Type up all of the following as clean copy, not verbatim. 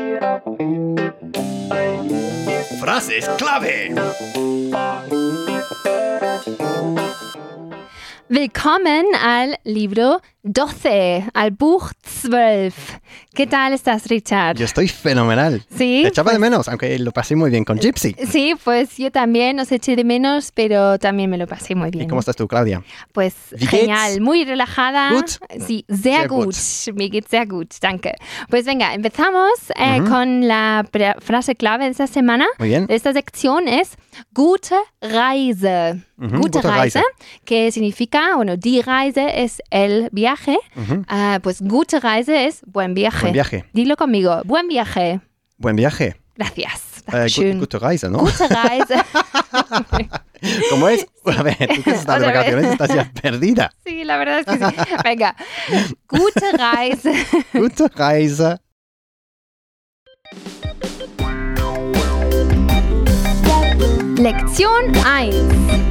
Frases clave. Willkommen al libro 12, al Buch 12. ¿Qué tal estás, Richard? Yo estoy fenomenal. Sí. Te echaba de menos, aunque lo pasé muy bien con Gypsy. Sí, pues yo también os eché de menos, pero también me lo pasé muy bien. ¿Y cómo estás tú, Claudia? Pues Wie genial, geht's? muy relajada. Gut? Sí, sehr gut. Mir geht's sehr gut, danke. Pues venga, empezamos con la frase clave de esta semana. Muy bien. De esta sección es gute Reise. Gute Reise, que significa, bueno, die Reise es el viaje. Pues gute Reise es buen viaje. Buen viaje. Dilo conmigo, buen viaje. Buen viaje. Gracias. Schön. Gute Reise, ¿no? Gute Reise. ¿Cómo es? A ver, tú que estás de Otra vez. vacaciones estás ya perdida. Sí, la verdad es que sí. Venga. Gute Reise. Gute Reise. Lección 1.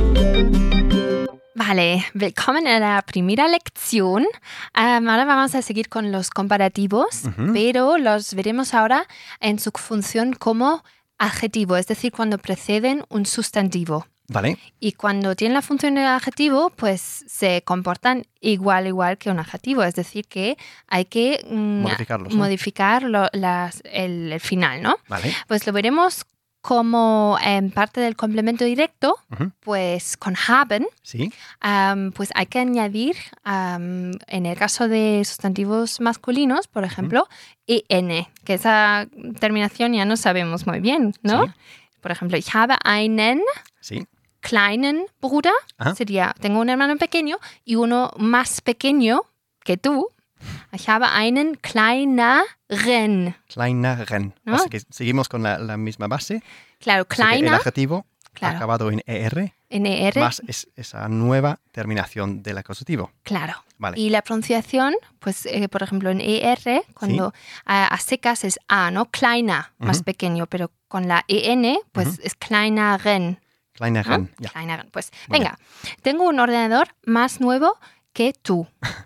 Vale, willkommen en la primera lección. Ahora vamos a seguir con los comparativos, pero los veremos ahora en su función como adjetivo, es decir, cuando preceden un sustantivo. Vale. Y cuando tienen la función de adjetivo, pues se comportan igual que un adjetivo. Es decir, que hay que Modificarlos, ¿no? modificar el final, ¿no? Vale. Pues lo veremos como parte del complemento directo, pues con haben, Sí. pues hay que añadir, en el caso de sustantivos masculinos, por ejemplo, en, que esa terminación ya no sabemos muy bien, ¿no? Sí. Por ejemplo, ich habe einen Sí. kleinen Bruder, Ajá. sería, tengo un hermano pequeño y uno más pequeño que tú. Ich habe einen kleineren. Kleineren. ¿No? Así que seguimos con la misma base. Claro, Así que el kleiner, adjetivo claro. acabado en ER NR, más esa nueva terminación del acusativo. claro. Vale. Y la pronunciación, pues, por ejemplo, en ER, cuando a secas es A, ¿no? Kleiner, más pequeño, pero con la EN, pues es kleineren. Kleineren. ¿No? Ja. Kleineren. Pues, Muy venga, tengo un ordenador más nuevo que tú.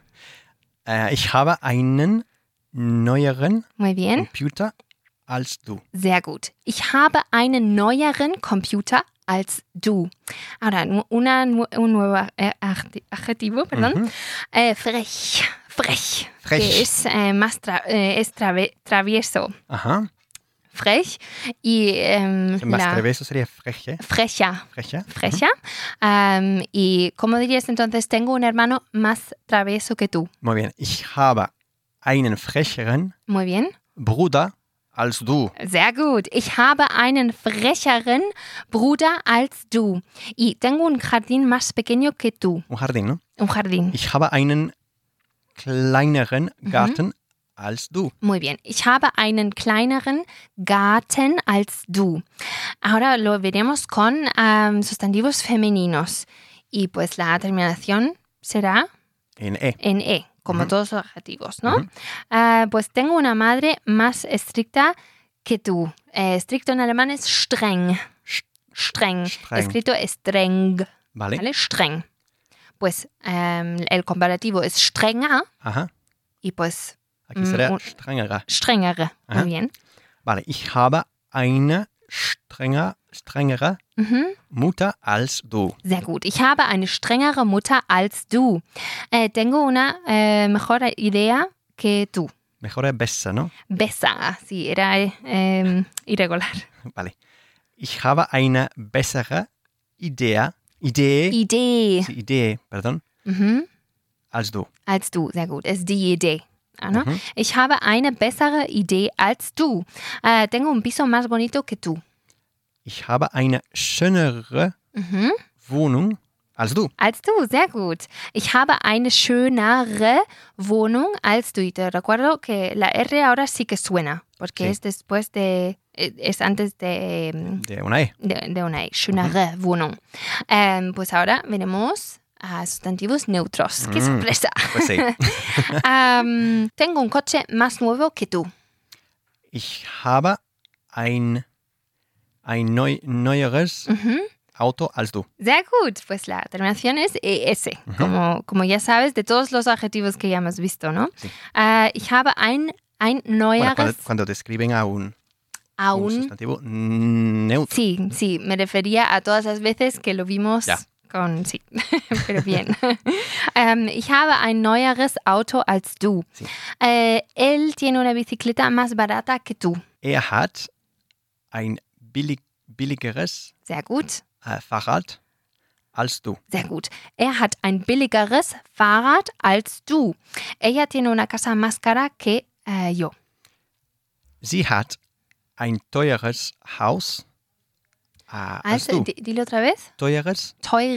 Ich habe einen neueren Muy bien, Computer als du. sehr gut. Ich habe einen neueren Computer als du. Ahora, un nuevo adjetivo, perdón. Frech. Frech. Que es más travieso. Ajá. Frech. Y Más travieso sería freche. frecha. Frecha. Frecha. Y ¿cómo dirías entonces? Tengo un hermano más travieso que tú. Muy bien. Ich habe einen frecheren Muy bien. Bruder als du. Sehr gut. Ich habe einen frecheren Bruder als du. Y tengo un jardín más pequeño que tú. Un jardín, ¿no? Un jardín. Ich habe einen kleineren Garten als du. Muy bien. Ich habe einen kleineren Garten als du. Ahora lo veremos con sustantivos femeninos. Y pues la terminación será En E. en E, como todos los adjetivos, ¿no? Pues tengo una madre más estricta que tú. Estricto en alemán es streng. Streng. Streng. Escrito streng. Vale. ¿Vale? Streng. Pues el comparativo es strenger Ajá. y pues Aquí sería strengere. strengere. Ajá. Muy bien. Vale. Ich habe eine strengere Mutter als du. Sehr gut. Ich habe eine strengere Mutter als du. Tengo una mejor idea que tú. Mejor es besser, ¿no? Besser. Sí, era irregular. Vale. Ich habe eine bessere Idee. Idee. Sí, Idee, perdón. Als du. Als du. Sehr gut. Es ist die Idee. ¿No? Ich habe eine bessere Idee als du. Tengo un piso más bonito que tú. Ich habe eine schönere Wohnung als du. Als du, sehr gut. Ich habe eine schönere Wohnung als du. Y te recuerdo que la R ahora sí que suena, porque Sí. es después de, es antes de una E. de una E. Schönere Wohnung. Pues ahora veremos a sustantivos neutros. ¡Qué sorpresa! Pues sí. Tengo un coche más nuevo que tú. Ich habe ein neueres Auto als du. Sehr gut. Pues la terminación es ES, como ya sabes, de todos los adjetivos que ya hemos visto, ¿no? Sí. Ich habe ein ein neueres... Cuando describen a un Aún. sustantivo neutro. Sí, me refería a todas las veces que lo vimos Ja. con... Sí, pero bien. Ich habe ein neueres Auto als du. Sí. Él tiene una bicicleta más barata que tú. Er hat ein billigeres Sehr gut, Fahrrad als du. sehr gut. Er hat ein billigeres Fahrrad als du. Ella tiene una casa más cara que yo. Sie hat ein teures Haus als Also, du. dilo otra vez. Teures,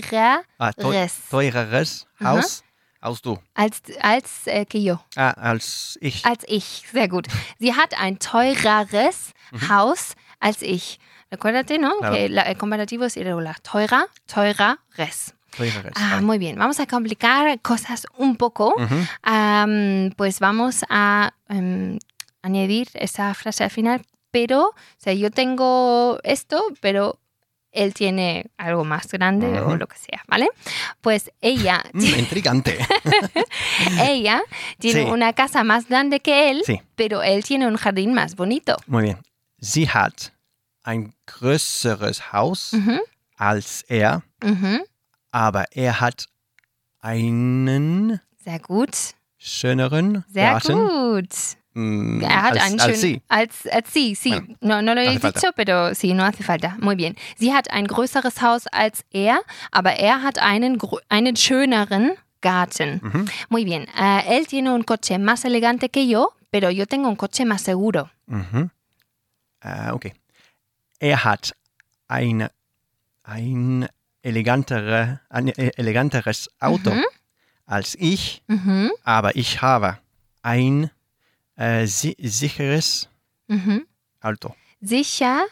Teureres Haus als du. als que yo. Als ich. Als ich, sehr gut. Sie hat ein teureres Haus als ich. Recuérdate, ¿no? Claro. Que el comparativo es irregular. Teureres. Teureres. Muy bien, vamos a complicar cosas un poco. Pues vamos a añadir esa frase al final, pero, o sea, yo tengo esto, pero él tiene algo más grande o lo que sea, ¿vale? Pues ella... Intrigante. Ella tiene Sí. una casa más grande que él, Sí. pero él tiene un jardín más bonito. Muy bien. Sie hat ein größeres Haus als er, Mhm. aber er hat einen Sehr gut. schöneren Sehr Garten gut. Er hat einen als schönen... sie. Als sie, sí. Bueno, no lo he hace falta. dicho, pero sí, no hace falta. Muy bien. Sie hat ein größeres Haus als er, aber er hat einen schöneren Garten. Muy bien. Él tiene un coche más elegante que yo, pero yo tengo un coche más seguro. Mhm. Okay. Er hat ein eleganteres Auto als ich, Mhm. aber ich habe ein sicheres Mhm. Auto. Sicheres.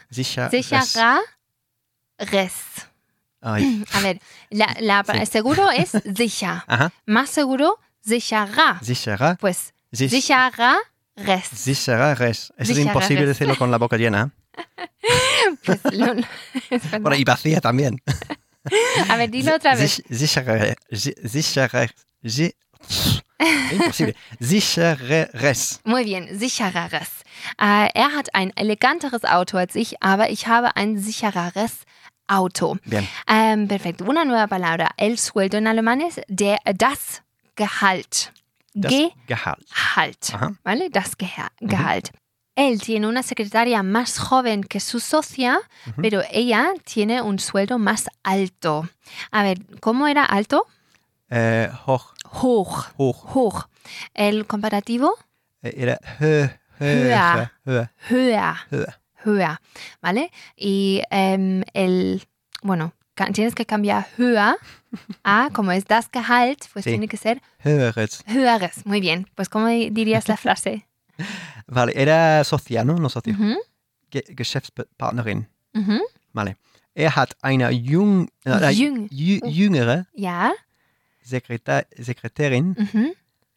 Ay. A ver, Sí. seguro es sicher. Ajá. Más seguro, sicherer. Sicherer. Pues Sich- sichereres. Sichereres. Es Sichereres. imposible decirlo con la boca llena. Pues, es verdad. Bueno, y vacía también. A ver, dilo otra vez. Imposible. Sichereres. Muy bien, sichereres. Er hat ein eleganteres Auto als ich, aber ich habe ein sichereres Auto. Bien. Perfecto. Una nueva palabra. El sueldo en alemán es das Gehalt. Das Gehalt. Gehalt. Ajá. ¿Vale? Das Gehalt. Él tiene una secretaria más joven que su socia, pero ella tiene un sueldo más alto. A ver, ¿cómo era alto? Hoch. Hoch. El comparativo, Era Höher. höher. höher. ¿Vale? Y tienes que cambiar höher a, como es das Gehalt, pues Sí. tiene que ser Höheres. höheres. Muy bien. Pues, ¿cómo dirías la frase? Vale, era socia, ¿no? No socia. Mhm. Geschäftspartnerin. Mhm. Vale. Er hat eine jüngere Ja. Sekretärin Mhm.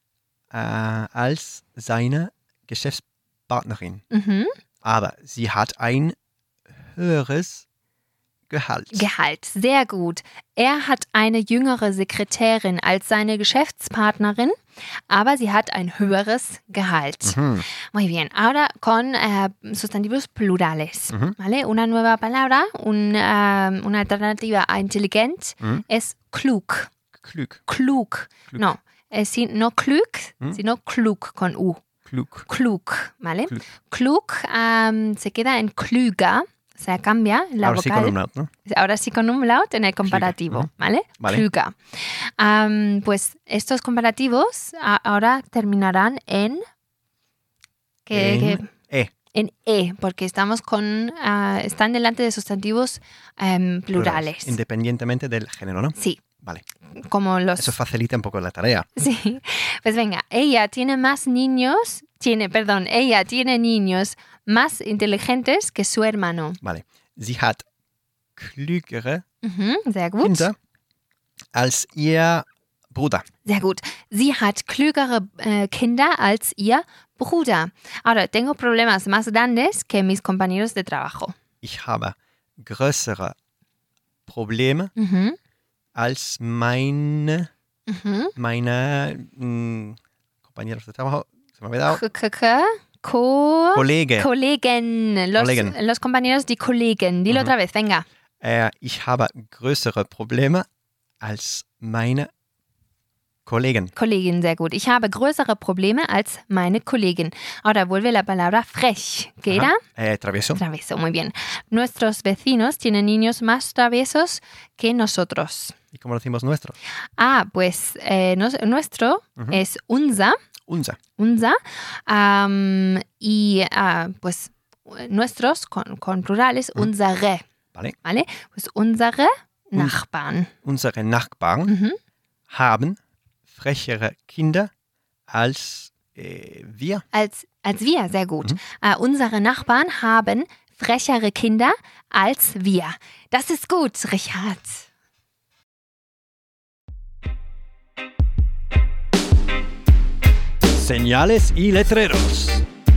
als seine Geschäftspartnerin. Mhm. Aber sie hat ein höheres Gehalt. Gehalt, sehr gut. Er hat eine jüngere Sekretärin als seine Geschäftspartnerin, aber sie hat ein höheres Gehalt. Muy bien. Ahora con sustantivos plurales. ¿Vale? Una nueva palabra, una alternativa a intelligent es klug. Klug. Klug. No, no klug, sino klug con U. Klug. Klug, ¿vale? Klug. Klug se queda en klüger. O sea, cambia la Ahora sí vocal. con umlaut, ¿no? Ahora sí con umlaut en el comparativo, ¿vale? Vale. Klüger. Pues estos comparativos ahora terminarán en... En E. En E, porque estamos están delante de sustantivos plurales. Independientemente del género, ¿no? Sí, Vale. como los... Eso facilita un poco la tarea. Sí, pues venga, ella tiene niños más inteligentes que su hermano. Vale. Sie hat klügere Sehr gut. Kinder als ihr Bruder. Sehr gut. Sie hat klügere Kinder als ihr Bruder. Ahora, tengo problemas más grandes que mis compañeros de trabajo. Ich habe größere Probleme als meine compañeros de trabajo. Se me ha olvidado. Kollege. Kollegen. Kollegen. Los compañeros, die Kollegen. Dilo otra vez, venga. Ich habe größere Probleme als meine Kollegen. Kollegin, sehr gut. Ich habe größere Probleme als meine Kollegin. Ahora vuelve la palabra frech. ¿Qué era? Travieso. Travieso, muy bien. Nuestros vecinos tienen niños más traviesos que nosotros. ¿Y cómo decimos nuestro? Pues nuestro es unser. Unser. Y pues nuestros con plurales, unsere. Vale. Pues unsere Nachbarn. Unsere Nachbarn haben frechere Kinder als wir. Als wir, sehr gut. Unsere Nachbarn haben frechere Kinder als wir. Das ist gut, Richard. Señales y letreros.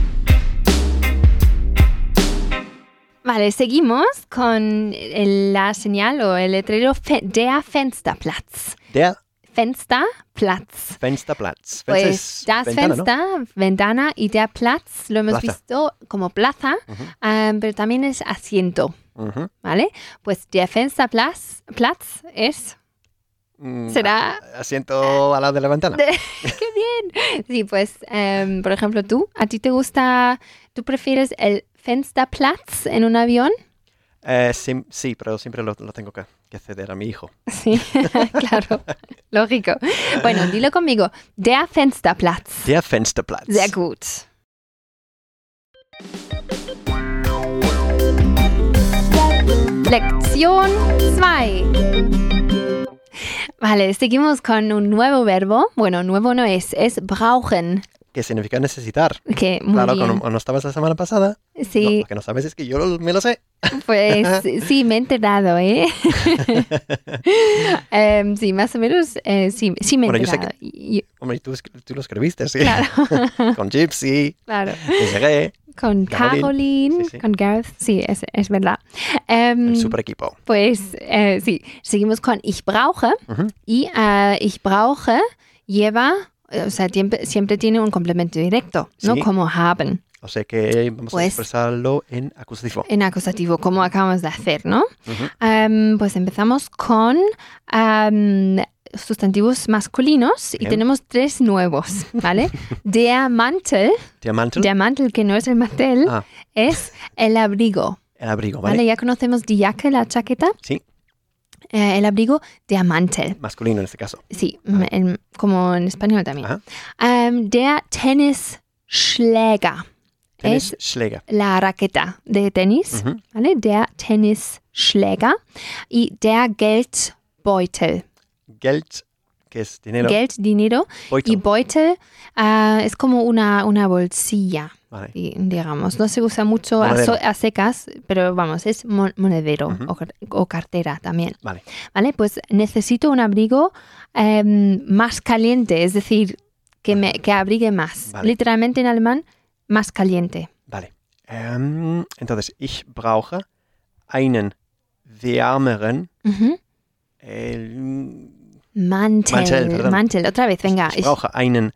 Vale, seguimos con la señal o el letrero der Fensterplatz. Der Fensterplatz. Fensterplatz. Pues das ventana, Fenster, ¿no? ventana y der Platz lo hemos Plaza. visto como plaza, pero también es asiento, ¿vale? Pues der Fensterplatz es... ¿Será? Asiento al lado de la ventana. ¡Qué bien! Sí, pues, por ejemplo, ¿a ti te gusta, tú prefieres el Fensterplatz en un avión? Sí, pero siempre lo tengo que ceder a mi hijo. Sí, claro, lógico. Bueno, dilo conmigo. Der Fensterplatz. Der Fensterplatz. Sehr gut. Lección 2. Vale, seguimos con un nuevo verbo. Bueno, nuevo no es brauchen. ¿Qué significa necesitar? Que muy Claro, bien. ¿no estabas la semana pasada? Sí. No, lo que no sabes es que yo me lo sé. Pues sí, me he enterado, ¿eh? Sí, más o menos, sí me he Bueno, yo sé enterado. Hombre, tú lo escribiste, sí. Claro. Con Gypsy, Claro. Desiree, Con Caroline, Sí. con Gareth, sí, es verdad. el super equipo. Pues sí, seguimos con ich brauche. Y ich brauche lleva, o sea, siempre tiene un complemento directo, ¿no? Sí. Como haben. O sea que vamos a Pues- expresarlo en acusativo. En acusativo, como acabamos de hacer, ¿no? Pues empezamos con sustantivos masculinos y Bien. tenemos 3 nuevos, ¿vale? Der Mantel, que no es el mantel, Ah, es el abrigo, el abrigo, ¿vale? ¿vale? Ya conocemos die Jacke, la chaqueta, Sí, el abrigo, der Mantel. masculino en este caso. Sí, como en español también. Ajá. Der Tennisschläger es Schläger. la raqueta de tenis, ¿vale? Der Tennisschläger y der Geldbeutel. Geld, que es dinero. Geld, dinero, Beutel. y Beutel es como una bolsilla, Vale. digamos. No se usa mucho Monedero. a secas, pero vamos, es monedero o cartera también. Vale. ¿Vale? Pues necesito un abrigo más caliente, es decir, que abrigue más. Vale. Literalmente en alemán, más caliente. Vale. Entonces, ich brauche einen wärmeren Mantel, perdón. Mantel, otra vez, venga. Ich brauche einen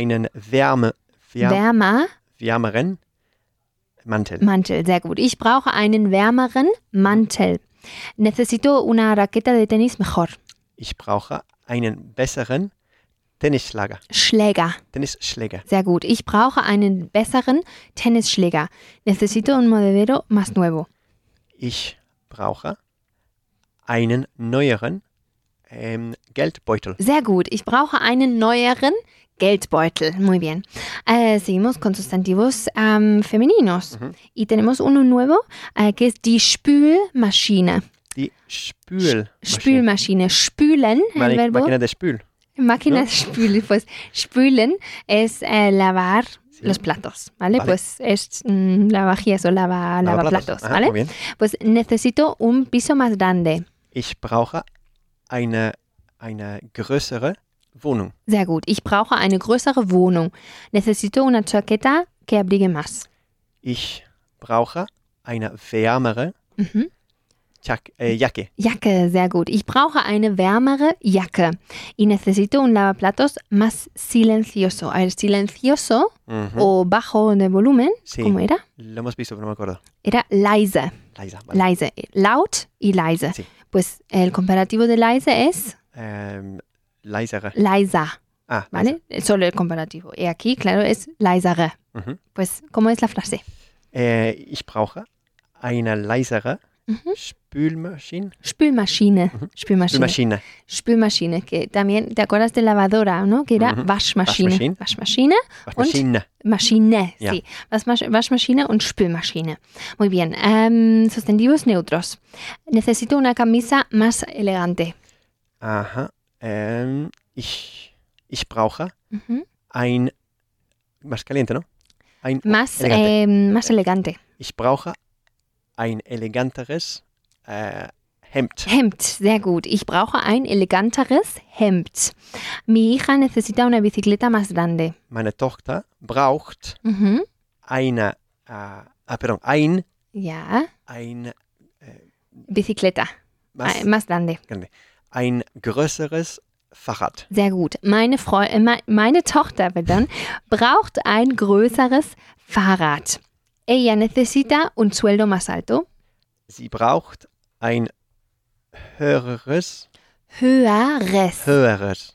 wärmeren Mantel. Mantel, sehr gut. Ich brauche einen wärmeren Mantel. Necesito una raqueta de tenis mejor. Ich brauche einen besseren Tennisschläger. Tennisschläger. Sehr gut. Ich brauche einen besseren Tennisschläger. Necesito un monedero más nuevo. Ich brauche einen neueren Geldbeutel. Sehr gut. Ich brauche einen neueren Geldbeutel. Muy bien. Seguimos con sustantivos femeninos. Y tenemos uno nuevo que es die Spülmaschine. Die Spülmaschine. Spülmaschine. Spülen, el verbo. Máquina de spül. Máquina de spülen. Pues spülen es lavar los platos, ¿vale? Vale. Pues es lavajías o lavaplatos, Ajá, ¿vale? muy bien. Pues necesito un piso más grande. Ich brauche eine größere Wohnung. Sehr gut. Ich brauche eine größere Wohnung. Necesito una chaqueta que abrigue más. Ich brauche eine wärmere Jacke. Jacke, sehr gut. Ich brauche eine wärmere Jacke. Y necesito un lavaplatos más silencioso. A ver, silencioso o bajo de volumen, Sí. ¿cómo era? Lo hemos visto, pero no me acuerdo. Era leise. Leise, vale. Leise. Laut y leise. Sí. Pues el comparativo de leise es Leisere. leiser, Ah, ¿vale? Solo el comparativo. Y aquí, claro, es leisere. leise. Pues, ¿cómo es la frase? Ich brauche eine leisere Spülmaschine. Spülmaschine. Spülmaschine. Spülmaschine. Spülmaschine, que también, ¿te acuerdas de lavadora, no? Que era Waschmaschine. Waschmaschine. Waschmaschine. Maschine, Ja. sí. Waschmaschine und Spülmaschine. Muy bien. Sustantivos neutros. Necesito una camisa más elegante. Aha. Ich brauche ein... Más caliente, ¿no? Ein Más elegante. más elegante. Ich brauche ein eleganteres Hemd. Hemd, sehr gut. Ich brauche ein eleganteres Hemd. Mi hija necesita una bicicleta más grande. Meine Tochter braucht Mhm. ein Ja, Bicicleta. was? Más grande. Ein größeres Fahrrad. Sehr gut. Meine Tochter braucht ein größeres Fahrrad. Ella necesita un sueldo más alto. Sie braucht ein höheres Höheres.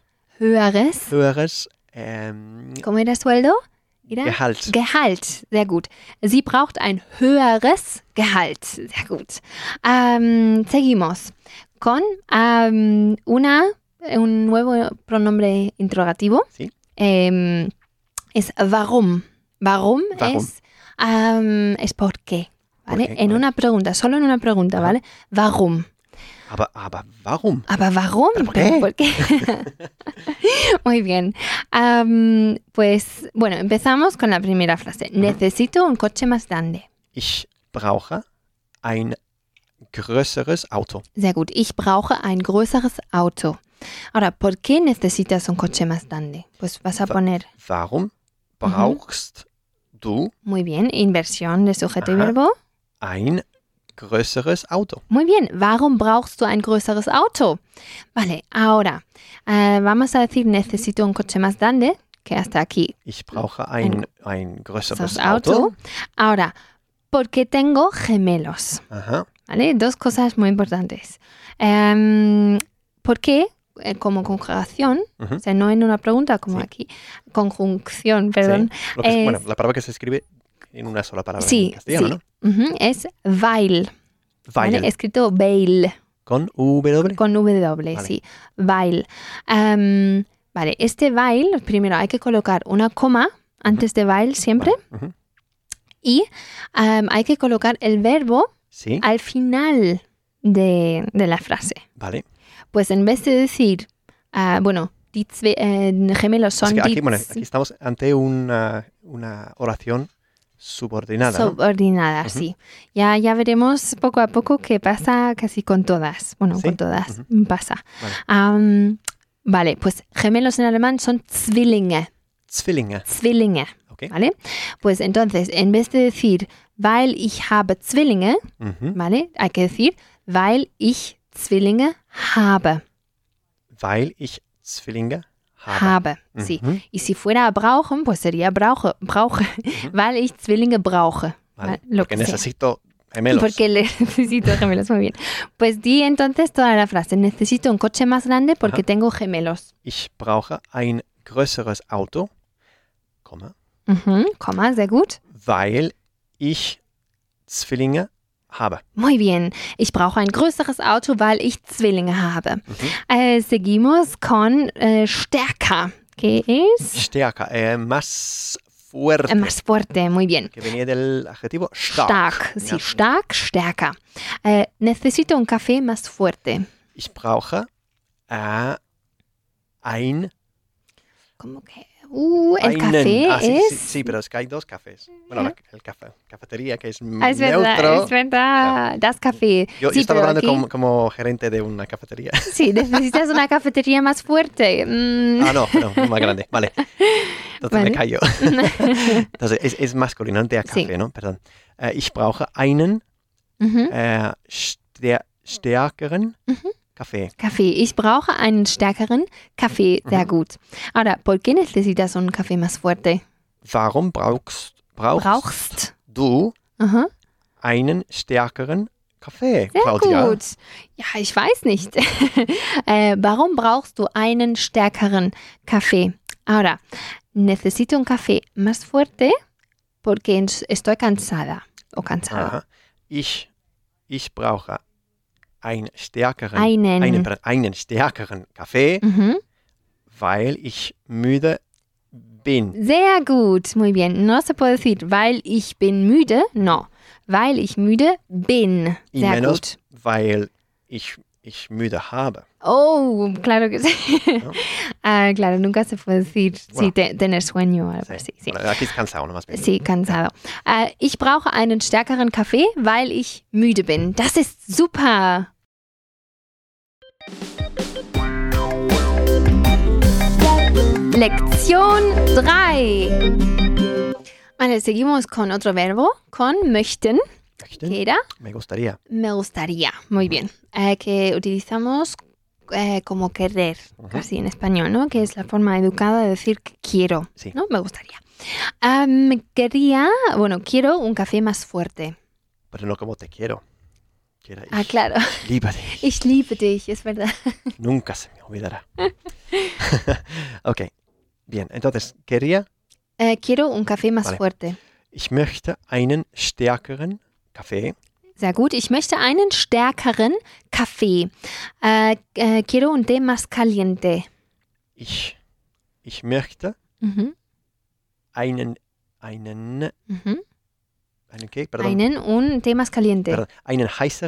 ¿Cómo era sueldo? Era Gehalt. Gehalt. Sehr gut. Sie braucht ein höheres Gehalt. Sehr gut. Seguimos con un nuevo pronombre interrogativo. Sí. Es warum. Warum Warum. es por qué. ¿Vale? ¿Por qué? En Vale. una pregunta, solo en una pregunta, Ajá. ¿vale? Warum. Aber warum? Aber warum? ¿Pero por qué? ¿Por qué? Muy bien. Pues, bueno, empezamos con la primera frase. Necesito un coche más grande. Ich brauche ein größeres Auto. Sehr gut. Ich brauche ein größeres Auto. Ahora, ¿por qué necesitas un coche más grande? Pues vas a poner, Warum brauchst du muy bien, inversión de sujeto y Ajá. verbo. ein größeres Auto? Muy bien. Warum brauchst du ein größeres Auto? Vale, ahora vamos a decir necesito un coche más grande, que hasta aquí Ich brauche ein größeres das Auto. Auto. Ahora, ¿por qué tengo gemelos? Aha. ¿Vale? Dos cosas muy importantes. ¿Por qué? Como conjugación, Ujú. o sea, no en una pregunta como Sí. aquí, conjunción, perdón. Sí. Lo que Es- bueno, la palabra que se escribe en una sola palabra Sí, en castellano, sí. Ujú, es weil, ¿no? Weil. ¿vale? Escrito weil, Con W. con W, Vale. sí, weil. Vale, este weil, primero hay que colocar una coma antes de weil siempre Vale. Ujú. y hay que colocar el verbo Sí. al final de la frase. Vale. Pues en vez de decir, gemelos Es son que aquí, die bueno, aquí estamos ante una oración subordinada, ¿no? subordinada, Ujú. sí. Ya veremos poco a poco qué pasa casi con todas. Bueno, ¿Sí? con todas pasa. Vale. Vale, pues gemelos en alemán son Zwillinge. Zwillinge. Zwillinge, Okay. ¿vale? Pues entonces, en vez de decir, weil ich habe Zwillinge, Mhm. ¿vale? Hay que decir, weil ich Zwillinge habe. Weil ich Zwillinge habe. Habe, sí. Mhm. Y si fuera a brauchen, pues sería brauche, weil ich Zwillinge brauche. Vale. Lo Porque que sea. necesito gemelos. Porque necesito gemelos, muy bien. Pues di entonces toda la frase. Necesito un coche más grande porque Ajá. tengo gemelos. Ich brauche ein größeres Auto, Komma, Komma, sehr gut. weil ich Zwillinge habe. Muy bien. Ich brauche ein größeres Auto, weil ich Zwillinge habe. Seguimos con stärker, que es Stärker, más fuerte. más fuerte. Muy bien. Que venía del adjetivo stark. Stark, sí, Ja. stark, stärker. Necesito un café más fuerte. Ich brauche ein... ¿Cómo que? El einen. café Ah, sí, es... sí, pero es que hay dos cafés. Bueno, el cafetería, que es Es neutro. verdad, es verdad. Das Café. Yo Sí, estaba pero hablando aquí- como gerente de una cafetería. Sí, necesitas una cafetería más fuerte. No, más grande. Vale. Entonces Vale. me callo. Entonces es masculino, der Kaffee, Sí. ¿no? Perdón. Ich brauche einen Ujú. stärkeren Kaffee. Kaffee. Ich brauche einen stärkeren Kaffee. Sehr gut. Ahora, ¿por qué necesitas un café más fuerte? Warum brauchst du Aha. einen stärkeren Kaffee, Sehr Claudia? gut. Ja, ich weiß nicht. Warum brauchst du einen stärkeren Kaffee? Ahora, necesito un café más fuerte porque estoy cansada o cansado. Aha. Ich brauche einen stärkeren Kaffee, weil ich müde bin. Sehr gut, muy bien. No se puede decir, weil ich bin müde, no. Weil ich müde bin. Y Sehr menos, gut. weil ich müde habe. Oh, claro que sí. ¿No? Claro, nunca se puede decir Bueno. tener sueño o algo así. Sí. Bueno, aquí es cansado, no más bien. Sí, cansado. Ich brauche einen stärkeren Kaffee, weil ich müde bin. Das ist super. Lección 3. Vale, seguimos con otro verbo, con möchten, ¿Möchten? que era Me gustaría. me gustaría. Muy bien. Que utilizamos como querer, casi en español, ¿no? Que es la forma educada de decir que quiero, Sí. ¿no? Me gustaría. Quiero un café más fuerte. Pero no como te quiero. Quiero Ah, claro. liebe dich. Ich liebe dich, es verdad. Nunca se me olvidará. Ok, bien. Entonces, quería, Quiero un café más Vale. fuerte. ich möchte einen stärkeren Kaffee. Sehr gut. Ich möchte einen stärkeren Kaffee. Quiero un té más caliente. Ich möchte Mhm. einen ¿qué? Perdón. Un té más caliente. Perdón. Einen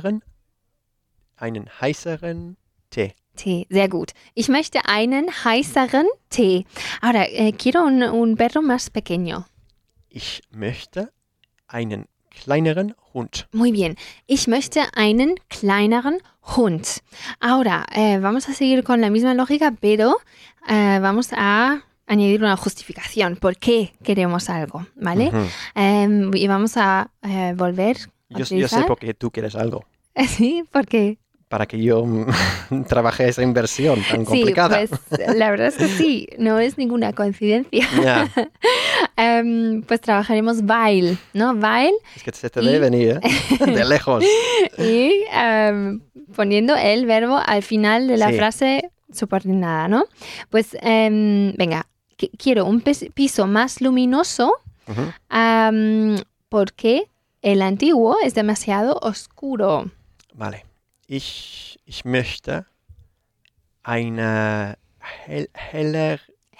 heißeren Tee. Tee, sehr gut. Ich möchte einen heißeren Tee. Ahora, quiero un perro más pequeño. Ich möchte einen kleineren Hund. Muy bien. Ich möchte einen kleineren Hund. Ahora, vamos a seguir con la misma lógica, pero vamos a añadir una justificación. ¿Por qué queremos algo? ¿Vale? Ujú. Y vamos a volver a Yo sé utilizar. por qué tú quieres algo. Sí, porque Para que yo trabaje esa inversión tan complicada. sí, pues la verdad es que sí, no es ninguna coincidencia. Ya, Pues trabajaremos weil, ¿no? Weil es que se te debe venir, ¿eh? De lejos. y poniendo el verbo al final de la Sí. frase subordinada, ¿no? Pues venga, quiero un piso más luminoso Ujú. porque el antiguo es demasiado oscuro. Vale. Ich möchte eine hellere.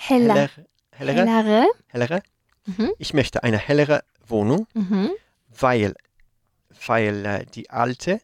Hellere. Mhm. Ich möchte eine hellere Wohnung, Mhm. weil die alte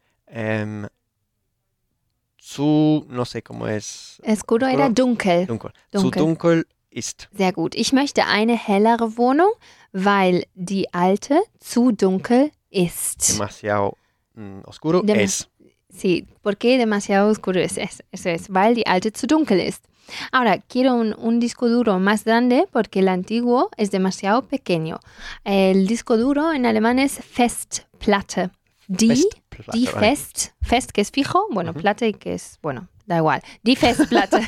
no sé cómo es, Oscuro era dunkel. dunkel, Dunkel. zu dunkel ist. Sehr gut. Ich möchte eine hellere Wohnung, weil die alte zu dunkel ist. Demasiado oscuro Dem- es. Sí, porque demasiado oscuro es. Eso es, weil die alte zu dunkel ist. Ahora, quiero un disco duro más grande porque el antiguo es demasiado pequeño. El disco duro en alemán es Festplatte. Die Festplatte, vale. Fest que es fijo, bueno, Platte que es, bueno, da igual. Die Festplatte.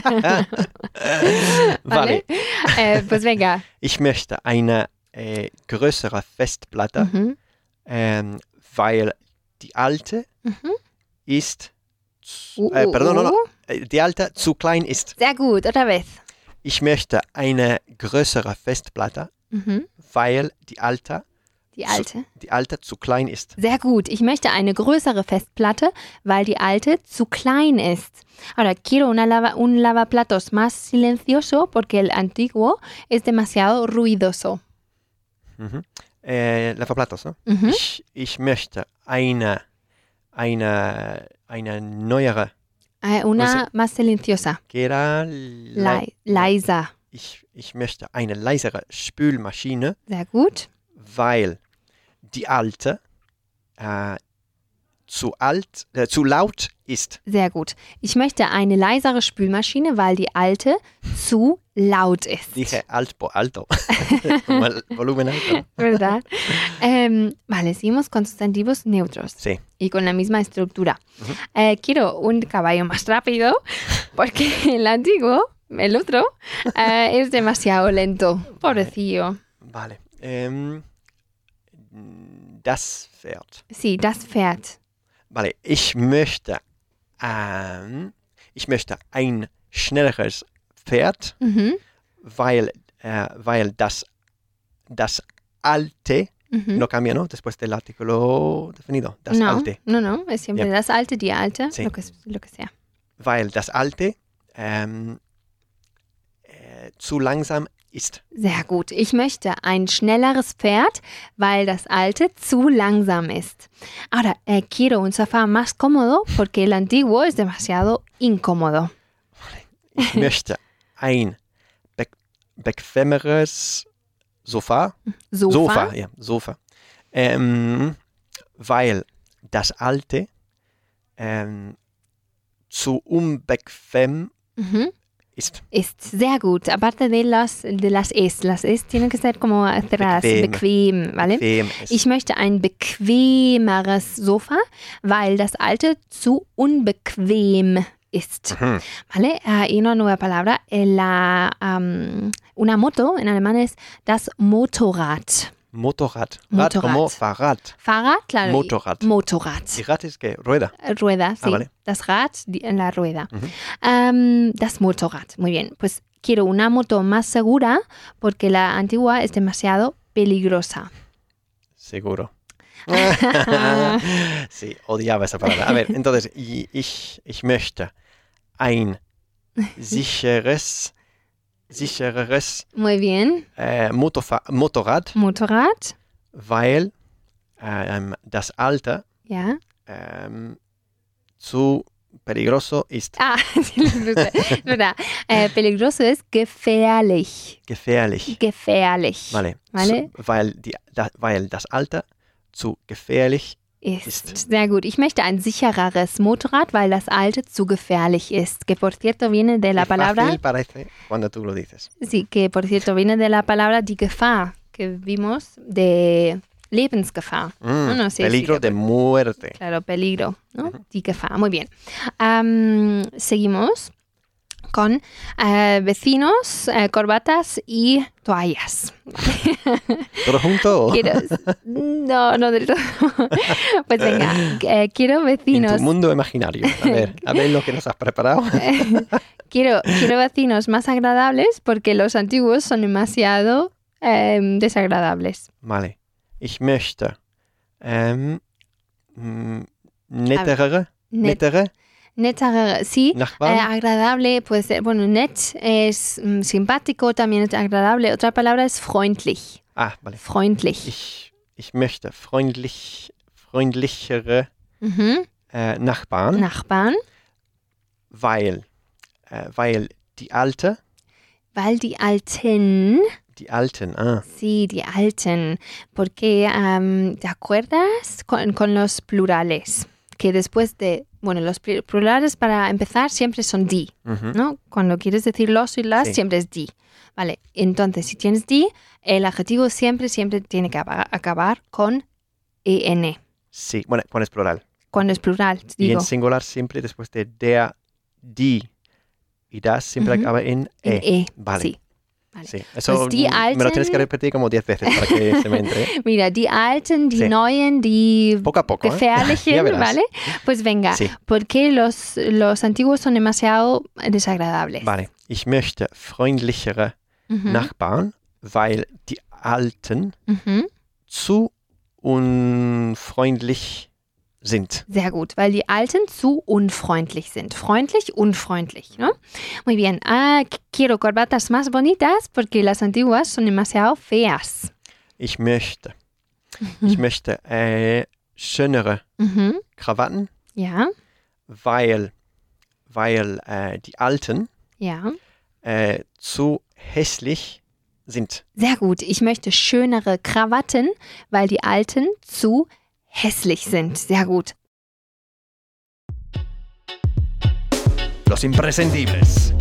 Vale. Pues venga. Ich möchte eine größere Festplatte, Mhm. weil die alte Mhm. ist, perdón, no, die alte zu klein ist. Sehr gut, otra vez. Ich möchte eine größere Festplatte, Mhm. weil die alte Die alte. zu klein ist. Sehr gut. Ich möchte eine größere Festplatte, weil die alte zu klein ist. Ahora, quiero un lavaplatos más silencioso porque el antiguo es demasiado ruidoso. Mhm. Lavaplatos, ne? Mhm. Ich möchte eine neuere, Una más silenciosa. que era Leiser. ich möchte eine leisere Spülmaschine, Sehr gut. weil die alte zu laut ist. Sehr gut. Ich möchte eine leisere Spülmaschine, weil die alte zu laut ist. Dije alto. Volumen alto. ¿Verdad? Vale, seguimos con sustantivos neutros. Sí. Y con la misma estructura. Quiero un caballo más rápido porque el antiguo, el otro, es demasiado lento. Pobrecillo. Vale. Das Pferd. Sí, das Pferd. Vale, ich möchte ein schnelleres Pferd, weil das alte no cambia, ¿no? Después del artículo definido. Das alte. No, es siempre das alte, die alte, Sí. lo que sea. Weil das alte zu langsam ist. Sehr gut. Ich möchte ein schnelleres Pferd, weil das alte zu langsam ist. Ahora, quiero un sofá más cómodo porque el antiguo es demasiado incómodo. Ich möchte ein bequemeres Sofa. Sofa. Sofa. Weil das alte zu unbequem ist. Ist sehr gut. Aparte de las es tienen que ser como cerradas, bequem, ¿vale? Bequem ist. Ich möchte ein bequemeres Sofa, weil das alte zu unbequem ist. ¿Vale? Y una nueva palabra. Una moto en alemán es das Motorrad. Motorrad. Motorrad. Rad como Fahrrad. Fahrrad, claro. Motorrad. Motorrad. Die Rad ist que rueda. Rueda, sí. Vale. Das Rad en la rueda. Das Motorrad. Muy bien. Pues quiero una moto más segura porque la antigua es demasiado peligrosa. Seguro. Sí, odiaba esa palabra. A ver, entonces, ich möchte ein sicheres Muy bien. Motorrad, Motorrad. weil das alte Ja. zu peligroso ist. Ah, es verdad. Peligroso es gefährlich. Gefährlich. Gefährlich. Vale. Vale. Weil das alte zu gefährlich Ist. Sehr gut. Ich möchte ein sichereres Motorrad, weil das alte zu gefährlich ist. Que por cierto viene de la palabra. Fácil parece cuando tú lo dices. Sí, que por cierto viene de la palabra die Gefahr, que vimos de Lebensgefahr. No sé Peligro si de muerte. Claro, peligro, ¿no? Die Gefahr. Muy bien. Seguimos con vecinos, corbatas y toallas. ¿Todo junto? No del todo. Pues venga, quiero En vecinos. tu mundo imaginario. A ver lo que nos has preparado. Quiero vecinos más agradables porque los antiguos son demasiado desagradables. Vale. Ich möchte nettere Nettere, sí. Nachbarn. Agradable puede ser, bueno, net es simpático, también es agradable. Otra palabra es freundlich. Ah, vale. Freundlich. Ich möchte freundlichere Nachbarn, Nachbarn. weil die Alten, sí, die Alten. Porque, ¿te acuerdas con los plurales? Que después de, bueno, los plurales para empezar siempre son die, ¿no? Cuando quieres decir los y las, Sí. siempre es die. Vale, entonces si tienes die, el adjetivo siempre tiene que acabar con en. sí, bueno, pones plural. Cuando es plural, Y digo. en singular siempre después de der, die y das siempre acaba en En e, Vale. sí. Vale. Sí, eso Pues die me lo tienes que Alten- repetir como 10 veces para que se me entre. Mira, die Alten, die Sí. Neuen, die Poco a poco. gefährlichen, Ya verás. ¿vale? Pues venga, Sí. porque los antiguos son demasiado desagradables. Vale. Ich möchte freundlichere Nachbarn, weil die Alten zu unfreundlich sind. Sehr gut, weil die Alten zu unfreundlich sind. Freundlich, unfreundlich, ¿no? Muy bien. Quiero corbatas más bonitas porque las antiguas son demasiado feas. Ich möchte schönere Krawatten, Ja, weil die Alten ja. zu hässlich sind. Sehr gut. Ich möchte schönere Krawatten, weil die Alten zu hässlich sind. Sehr gut. los imprescindibles.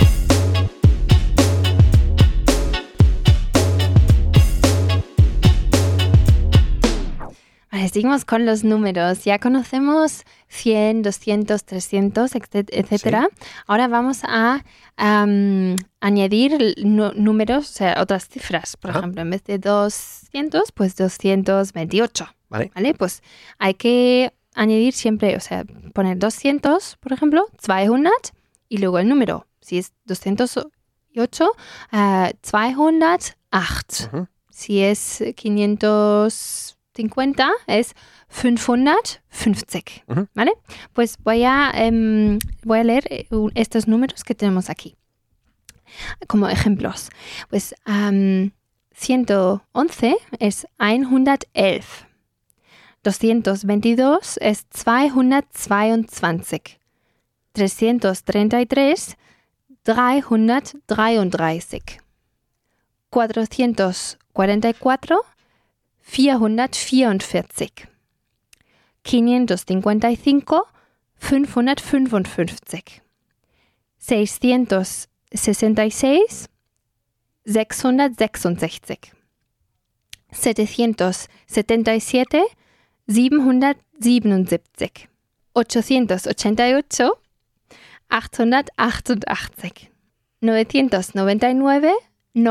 Vale, seguimos con los números. Ya conocemos 100, 200, 300, etcétera. Sí. Ahora vamos a añadir números, o sea, otras cifras. Por ejemplo, en vez de 200, pues 228. Vale. Pues hay que añadir siempre, o sea, poner 200, por ejemplo, 200 y luego el número. Si es 208, 208. Uh-huh. Si es 550, es 550. Uh-huh. ¿Vale? Pues voy a leer estos números que tenemos aquí como ejemplos. Pues 111 es 111. 222 es 222. 333, 333. 444, 444. 555, 555. 666, 666. 777, 777. 888, 888. 999,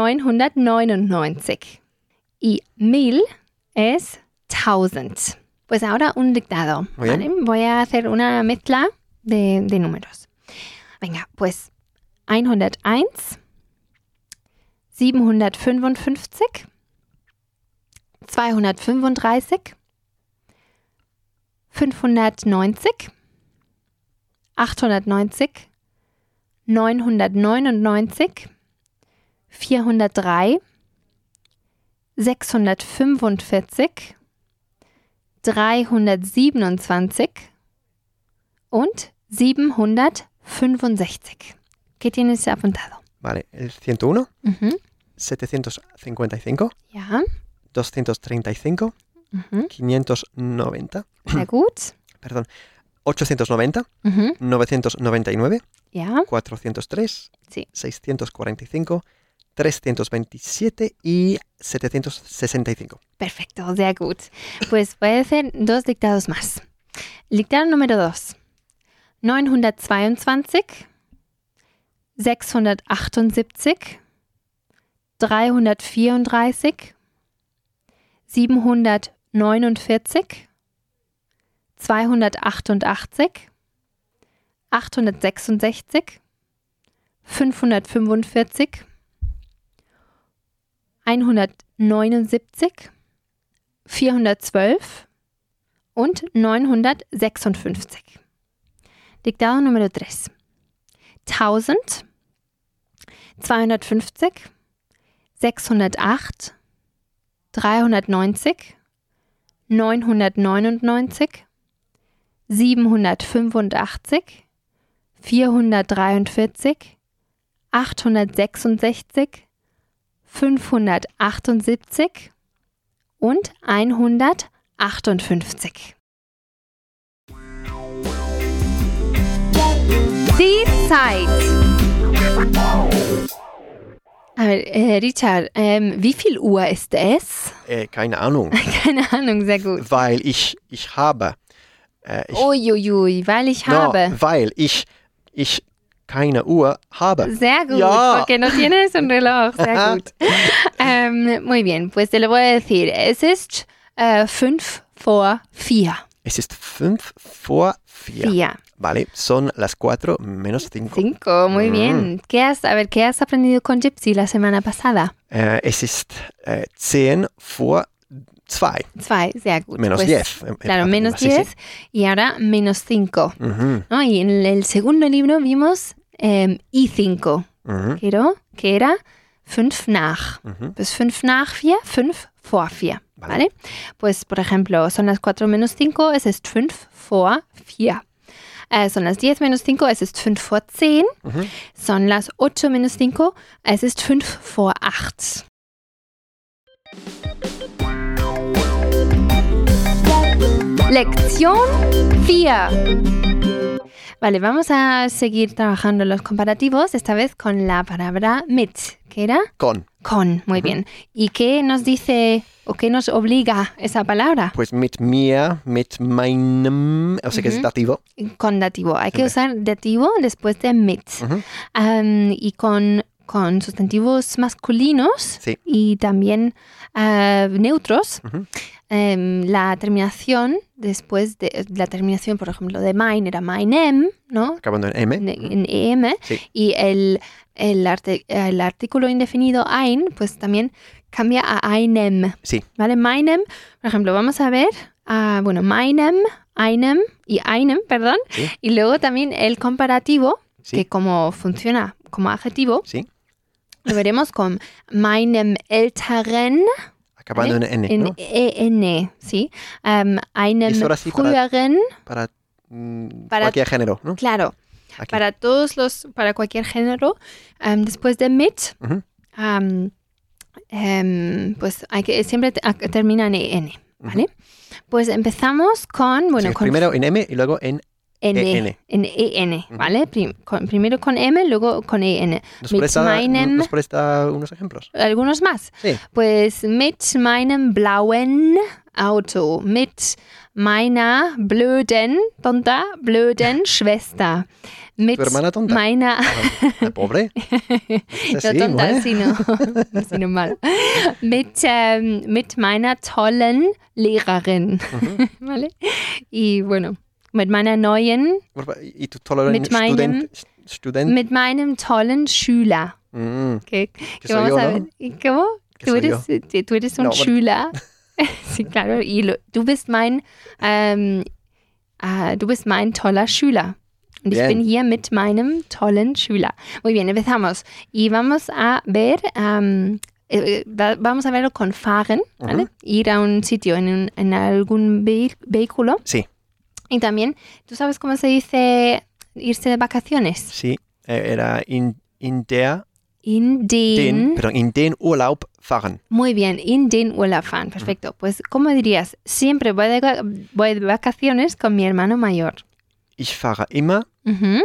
999. Y 1000 es 1000. Pues ahora un dictado. ¿Vale? Voy a hacer una mezcla de números. Venga, pues 101, 755, 235, 590, 890, 999, 403, 645, 327 und 765. ¿Qué tienes apuntado? Vale, el 101, Uh-huh. 755, Ja. 235, Uh-huh. 590, Sehr gut. perdón, 890, Uh-huh. 999, Ja. 403, Sí. 645, 327 y 765. Perfecto, sehr gut. Pues voy a hacer dos dictados más. Dictado número 2. 922, 678, 334, 749, 288, 866, 545, 179, 412 und 956. Dictado número 3. 1000, 250, 608, 390, 999, 785, 443, 866, 578 und 158. Die Zeit. Richard, wie viel Uhr ist es? Keine Ahnung. Keine Ahnung, sehr gut. Weil ich habe. Uiuiui, weil ich habe. Weil ich keine Uhr habe. Sehr gut, Ja. porque no tienes un reloj. Sehr gut. Muy bien, pues te lo voy a decir. Es ist 5 vor 4. Es ist 5 vor 4. 4. Vale, son las 4 menos 5. 5, muy bien. ¿Qué has aprendido con Gypsy la semana pasada? Es ist 10 vor 2. 2, sehr gut. Menos Pues, 10. Claro, menos Sí, 10 sí. y ahora menos 5. Ujú, ¿No? Y en el segundo libro vimos I5, ujú, que era 5 nach. ujú. Pues 5 nach 4, 5 vor 4. ¿Vale? Pues, por ejemplo, son las 4 menos 5, es ist 5 vor 4. Son las 10 menos 5, es ist 5 vor 10. Ujú. Son las 8 menos 5, es ist 5 vor 8. Lección 4. Vale, vamos a seguir trabajando los comparativos, esta vez con la palabra mit, ¿qué era? Con. Con, muy bien. ¿Y qué nos dice o qué nos obliga esa palabra? Pues mit mir, mit meinem, o sea que es dativo. Con dativo. Hay que usar dativo después de mit. Y con sustantivos masculinos Sí. y también neutros. La terminación, después de la terminación, por ejemplo, de mein era meinem, ¿no? Acabando en M. En EM. Sí. Y el artículo indefinido ein, pues también cambia a einem. Sí. ¿Vale? Meinem, por ejemplo, vamos a ver, meinem, einem y einem, perdón. Sí. Y luego también el comparativo, Sí. que como funciona como adjetivo, Sí. lo veremos con meinem älteren, Acabando ¿vale? en N, En ¿no? EN, ¿sí? Einem Y eso ahora sí para- früheren, Para, Para- cualquier género, ¿no? claro, Aquí. para cualquier género, después de mit, Ujú. pues siempre termina en EN, ¿vale? Pues empezamos con, O bueno, sea que con primero en M y luego en EN, en EN, ¿vale? Primero con M, luego con EN. ¿Nos Mit meinem, puedes dar unos ejemplos? algunos más. Sí. Pues mit meinem blauen Auto, mit meiner blöden Schwester, mit ¿Tu hermana tonta? meiner, La pobre. Es no así, tonta, ¿no? sino mal, mit meiner tollen Lehrerin, ¿vale? Y bueno, mit meiner neuen, ¿Y tu tolerante Mit meinem- student? mit meinem tollen Schüler. Que Que soy vamos yo, a ¿no? ver. ¿Y cómo? Que Tú soy eres un No, bueno. Schüler. Sí, claro. Y du bist mein toller Schüler. Und ich Bien. bin hier mit meinem tollen Schüler. Muy bien, empezamos. Y vamos a ver, vamos a verlo con fahren, ¿vale? Ir a un sitio en algún vehículo. Sí, Y también, ¿tú sabes cómo se dice irse de vacaciones? sí. Era in der, In den in den Urlaub fahren. Muy bien, in den Urlaub fahren, perfecto. Pues, ¿cómo dirías? Siempre voy de vacaciones con mi hermano mayor. Ich fahre immer Ujú.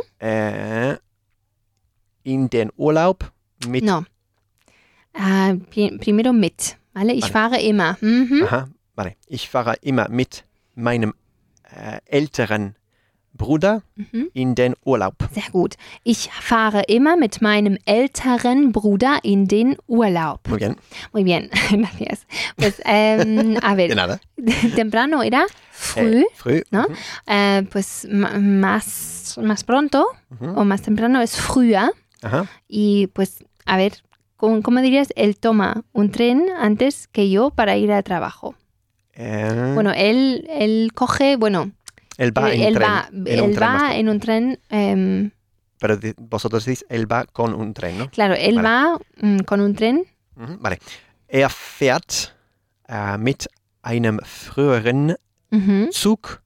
in den Urlaub mit. No. Primero mit, ¿vale? Ich Vale. fahre immer. Mhm. Aha, vale. Ich fahre immer mit meinem älteren Bruder Mhm. in den Urlaub. Sehr gut. Ich fahre immer mit meinem älteren Bruder in den Urlaub. Muy bien. Muy bien, gracias. Pues, a De ver, nada. temprano era früh, Früh. ¿no? Pues más pronto o más temprano es früher. Aha. Y pues, a ver, ¿cómo dirías? Él toma un tren antes que yo para ir al trabajo. Bueno, él coge, bueno, él va en él tren. va, en un él tren más va que- en un tren, Pero vosotros decís, él va con un tren, ¿no? claro, él Vale. va con un tren. Vale. Er fährt mit einem früheren Ujú, Zug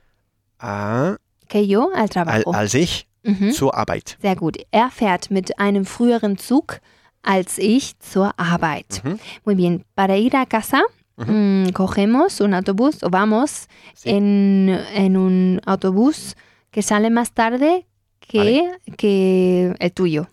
que yo al trabajo. als ich Ujú, zur Arbeit. sehr gut. Er fährt mit einem früheren Zug als ich zur Arbeit. Mhm. Muy bien. Para ir a casa, cogemos un autobús o vamos Sí. en un autobús que sale más tarde que el tuyo.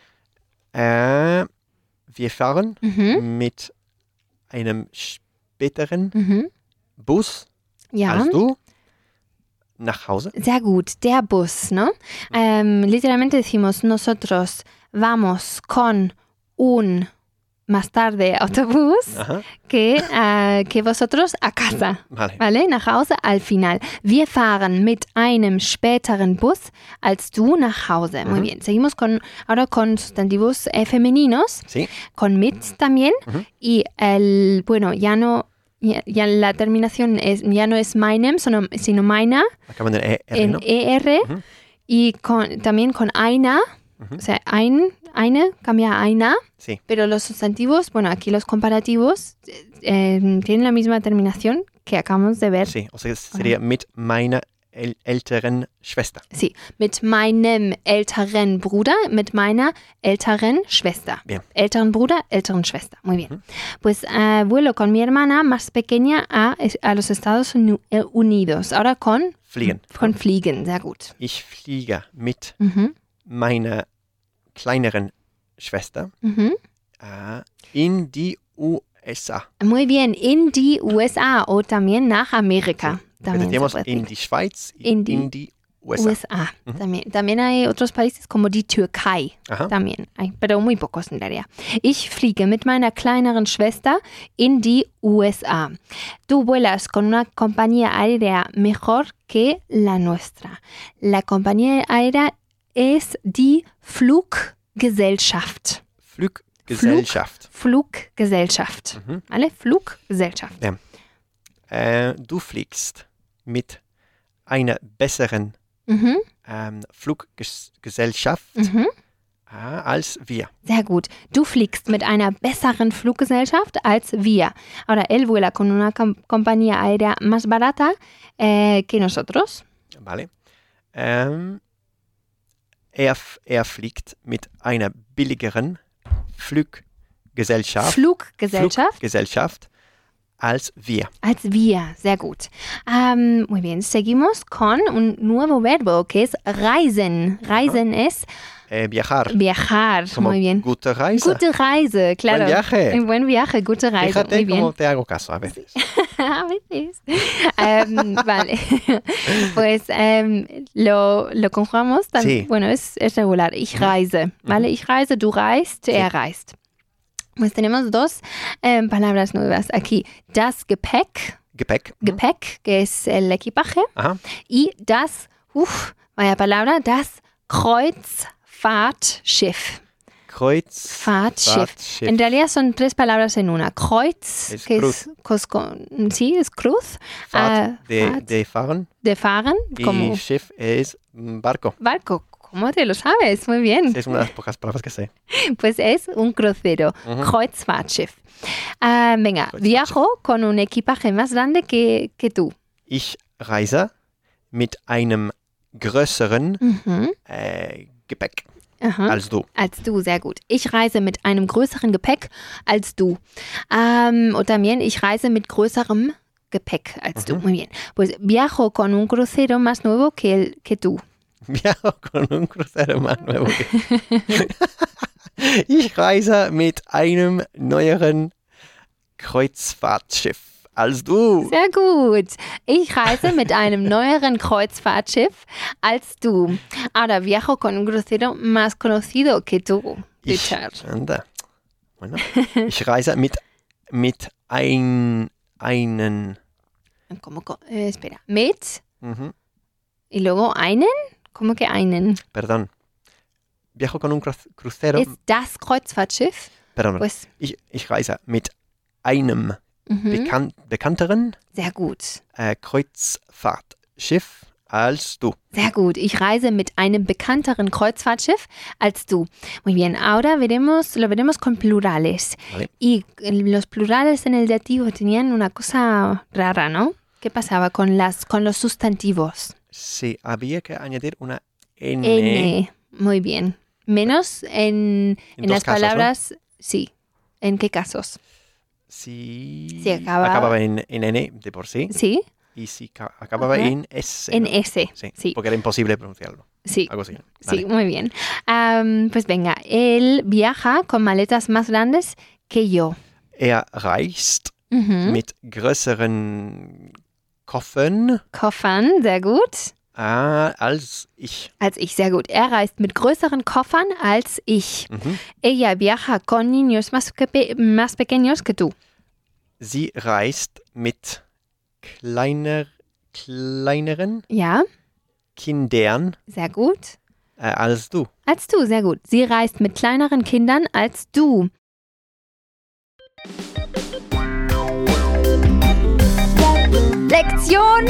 Wir fahren Ujú, mit einem späteren ujú. Bus Ja. als du nach Hause. Sehr gut, der Bus, ¿no? Literalmente decimos nosotros vamos con un más tarde Autobus Aha. que vosotros a casa, Vale. ¿vale? Nach Hause al final. Wir fahren mit einem späteren Bus als du nach Hause. Muy bien. Seguimos ahora con sustantivos femeninos, Sí. con mit también. Y bueno, ya la terminación ya no es meinem, sino meiner. Acaban en ER, En ¿no? ER y también con einer, o sea, eine cambia a einer, Sí. pero los sustantivos, bueno, aquí los comparativos tienen la misma terminación que acabamos de ver. Sí. O sea, sería mit meiner älteren Schwester. Sí, mit meinem älteren Bruder, mit meiner älteren Schwester. Bien. Älteren Bruder, älteren Schwester. Muy bien. Pues vuelo con mi hermana más pequeña a los Estados Unidos. Ahora con fliegen. Von fliegen, sehr gut. Ich fliege mit Mhm. meiner kleineren Schwester Mhm. in die USA. Muy bien, in die USA o también nach América. También se Tenemos puede in decir. die Schweiz, In die in die USA. USA. También hay otros países como die Türkei. Ajá. También hay, pero muy pocos en realidad. Ich fliege mit meiner kleineren Schwester in die USA. Tú vuelas con una compañía aérea mejor que la nuestra. La compañía aérea es die Fluggesellschaft. Fluggesellschaft. Fluggesellschaft. Mhm. ¿Vale? Fluggesellschaft. Du fliegst mit einer besseren Mhm. Fluggesellschaft Mhm. als wir. Sehr gut. Du fliegst mit einer besseren Fluggesellschaft als wir. Ahora, él vuela con una compañía aérea más barata que nosotros. Vale. Er fliegt mit einer billigeren Fluggesellschaft als wir. Als wir. Sehr gut. Muy bien. Seguimos con un nuevo verbo que es reisen. Reisen es Viajar. viajar. Como Muy bien. Gute Reise. Gute Reise, claro. Buen viaje. Buen viaje, gute Reise. Fíjate Muy bien. cómo te hago caso a veces. A veces. Vale. Pues lo conjugamos. Sí. Bueno, es regular. Ich reise. ¿Vale? Ich reise, du reist, er reist. Pues tenemos dos palabras nuevas aquí. Das Gepäck, Gepäck, que es el equipaje. Ajá. Y das, vaya palabra, das Kreuzfahrtschiff. Kreuzfahrtschiff. En realidad son tres palabras en una. Kreuz, Es que cruz. es cruz. Fahrt, Fahrt, de fahren. de fahren, como Y Schiff es barco. barco. ¿Cómo te lo sabes? Muy bien. Es una de las pocas palabras que sé. Pues es un crucero. Kreuzfahrtschiff. Venga, Kreuzfahrtschiff. viajo con un equipaje más grande que tú. Ich reise mit einem größeren Gepäck Ajá. als du. Als du, sehr gut. Ich reise mit einem größeren Gepäck als du. Und también ich reise mit größerem Gepäck als du. Muy bien. Pues viajo con un crucero más nuevo que tú. Viajo con un crucero más nuevo que Ich reise mit einem neueren Kreuzfahrtschiff als du. Sehr gut. Ich reise mit einem neueren Kreuzfahrtschiff als du. Ahora viajo con un crucero más conocido que tú, Richard. Anda. Bueno, ich reise mit einen. Espera. Mit Mhm. y luego einen. ¿Cómo que einen? Perdón. Viajo con un crucero. Es das Kreuzfahrtschiff. Perdón. Pues, Ich reise mit einem mhm. bekannteren Sehr gut. Kreuzfahrtschiff als du. Sehr gut. Ich reise mit einem bekannteren Kreuzfahrtschiff als du. Muy bien. Ahora lo veremos con plurales. Vale. Y los plurales en el dativo tenían una cosa rara, ¿no? ¿Qué pasaba con los sustantivos? Sí, había que añadir una N. N. Muy bien. Menos en dos las casos, palabras. Sí. ¿En qué casos? Si Si acababa en N de por sí. Sí. Y si acababa Ajá. en S. En ¿no? S. Sí, Sí. porque era imposible pronunciarlo. Sí. Algo así. Sí, Vale. muy bien. Pues venga, él viaja con maletas más grandes que yo. Reist Mhm. mit größeren Koffern Koffern, sehr gut. als ich. Als ich, sehr gut. Er reist mit größeren Koffern als ich. Mhm. Ella viaja con niños más pequeños que tú. Sie reist mit kleineren Ja, Kindern sehr gut. als du. Als du, sehr gut. Sie reist mit kleineren Kindern als du. Lección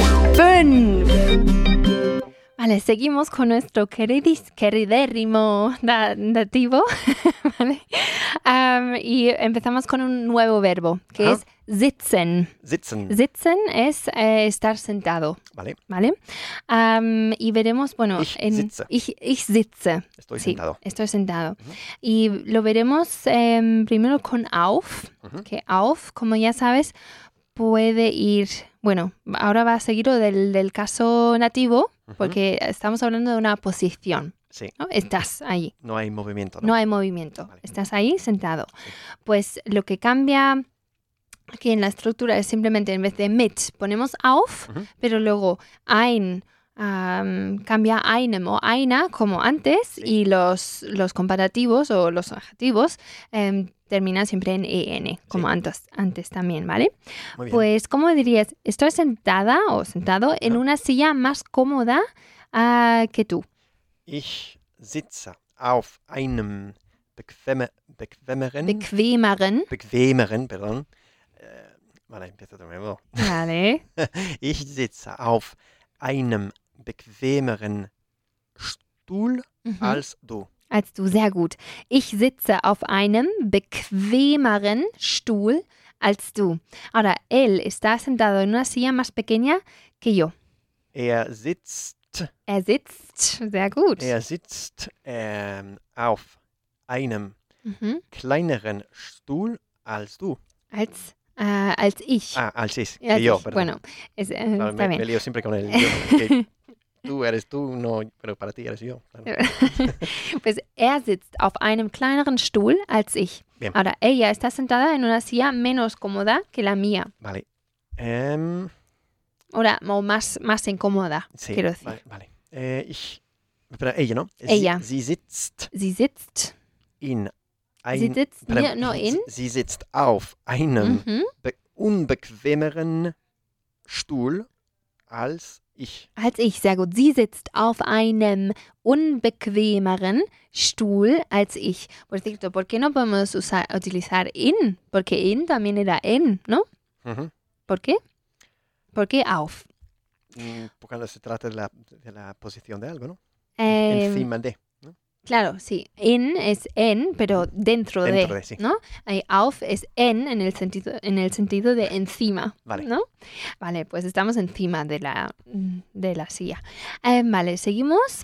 5. Vale, seguimos con nuestro queridérrimo dativo. ¿Vale? Y empezamos con un nuevo verbo, que Ajá. es sitzen. Sitzen. Sitzen es estar sentado, Vale. ¿vale? Y veremos, bueno, Ich sitze. Ich sitze. Estoy Sí, sentado. estoy sentado. Y lo veremos primero con auf, Ujú. que auf, como ya sabes, puede ir Bueno, ahora va a seguir lo del caso nativo, Ujú. porque estamos hablando de una posición, Sí, ¿no? Estás ahí, no hay movimiento, no ¿no? hay movimiento, Vale. estás ahí sentado. Sí. Pues lo que cambia aquí en la estructura es simplemente en vez de mit ponemos auf, Ujú. pero luego ein cambia einem o einer como antes Sí. y los comparativos o los adjetivos terminan siempre en en, como antes también, ¿vale? Muy bien. Pues, ¿cómo dirías? Estoy sentada o sentado en Ajá. una silla más cómoda que tú. Ich sitze auf einem bequemeren, perdón. Vale, empiezo de nuevo. Vale. Ich sitze auf einem bequemeren Stuhl Mhm. als du. Als du, sehr gut. Ich sitze auf einem bequemeren Stuhl als du. Ahora, él está sentado en una silla más pequeña que yo. Er sitzt Sehr gut. auf einem Mhm. kleineren Stuhl als du. Als ich. Als ich. Als Que yo, ich. perdón. Bueno, Claro, está me bien. lío siempre con el yo. Que tú eres tú, no, pero para ti eres yo. Claro. Pues er sitzt auf einem kleineren Stuhl als ich. Bien. Ahora, ella está sentada en una silla menos cómoda que la mía. Vale. O más incómoda, Sí, quiero decir. vale. Pero ella, ¿no? Ella. Sie sitzt Sie sitzt. in Sie sitzt perdón, no in. Sie sitzt auf einem Mhm. unbequemeren Stuhl als ich. Als ich, sehr gut. Sie sitzt auf einem unbequemeren Stuhl als ich. Por cierto, ¿por qué no podemos utilizar in? Porque in también era en, ¿no? Mhm. ¿Por qué? ¿Por qué auf? Cuando se trata de la posición de algo, ¿no? Em, Encima de. Claro, sí. In es en, pero dentro de, sí. ¿no? Auf es en el sentido de encima, Vale. ¿no? Vale, pues estamos encima de la silla. Vale, seguimos.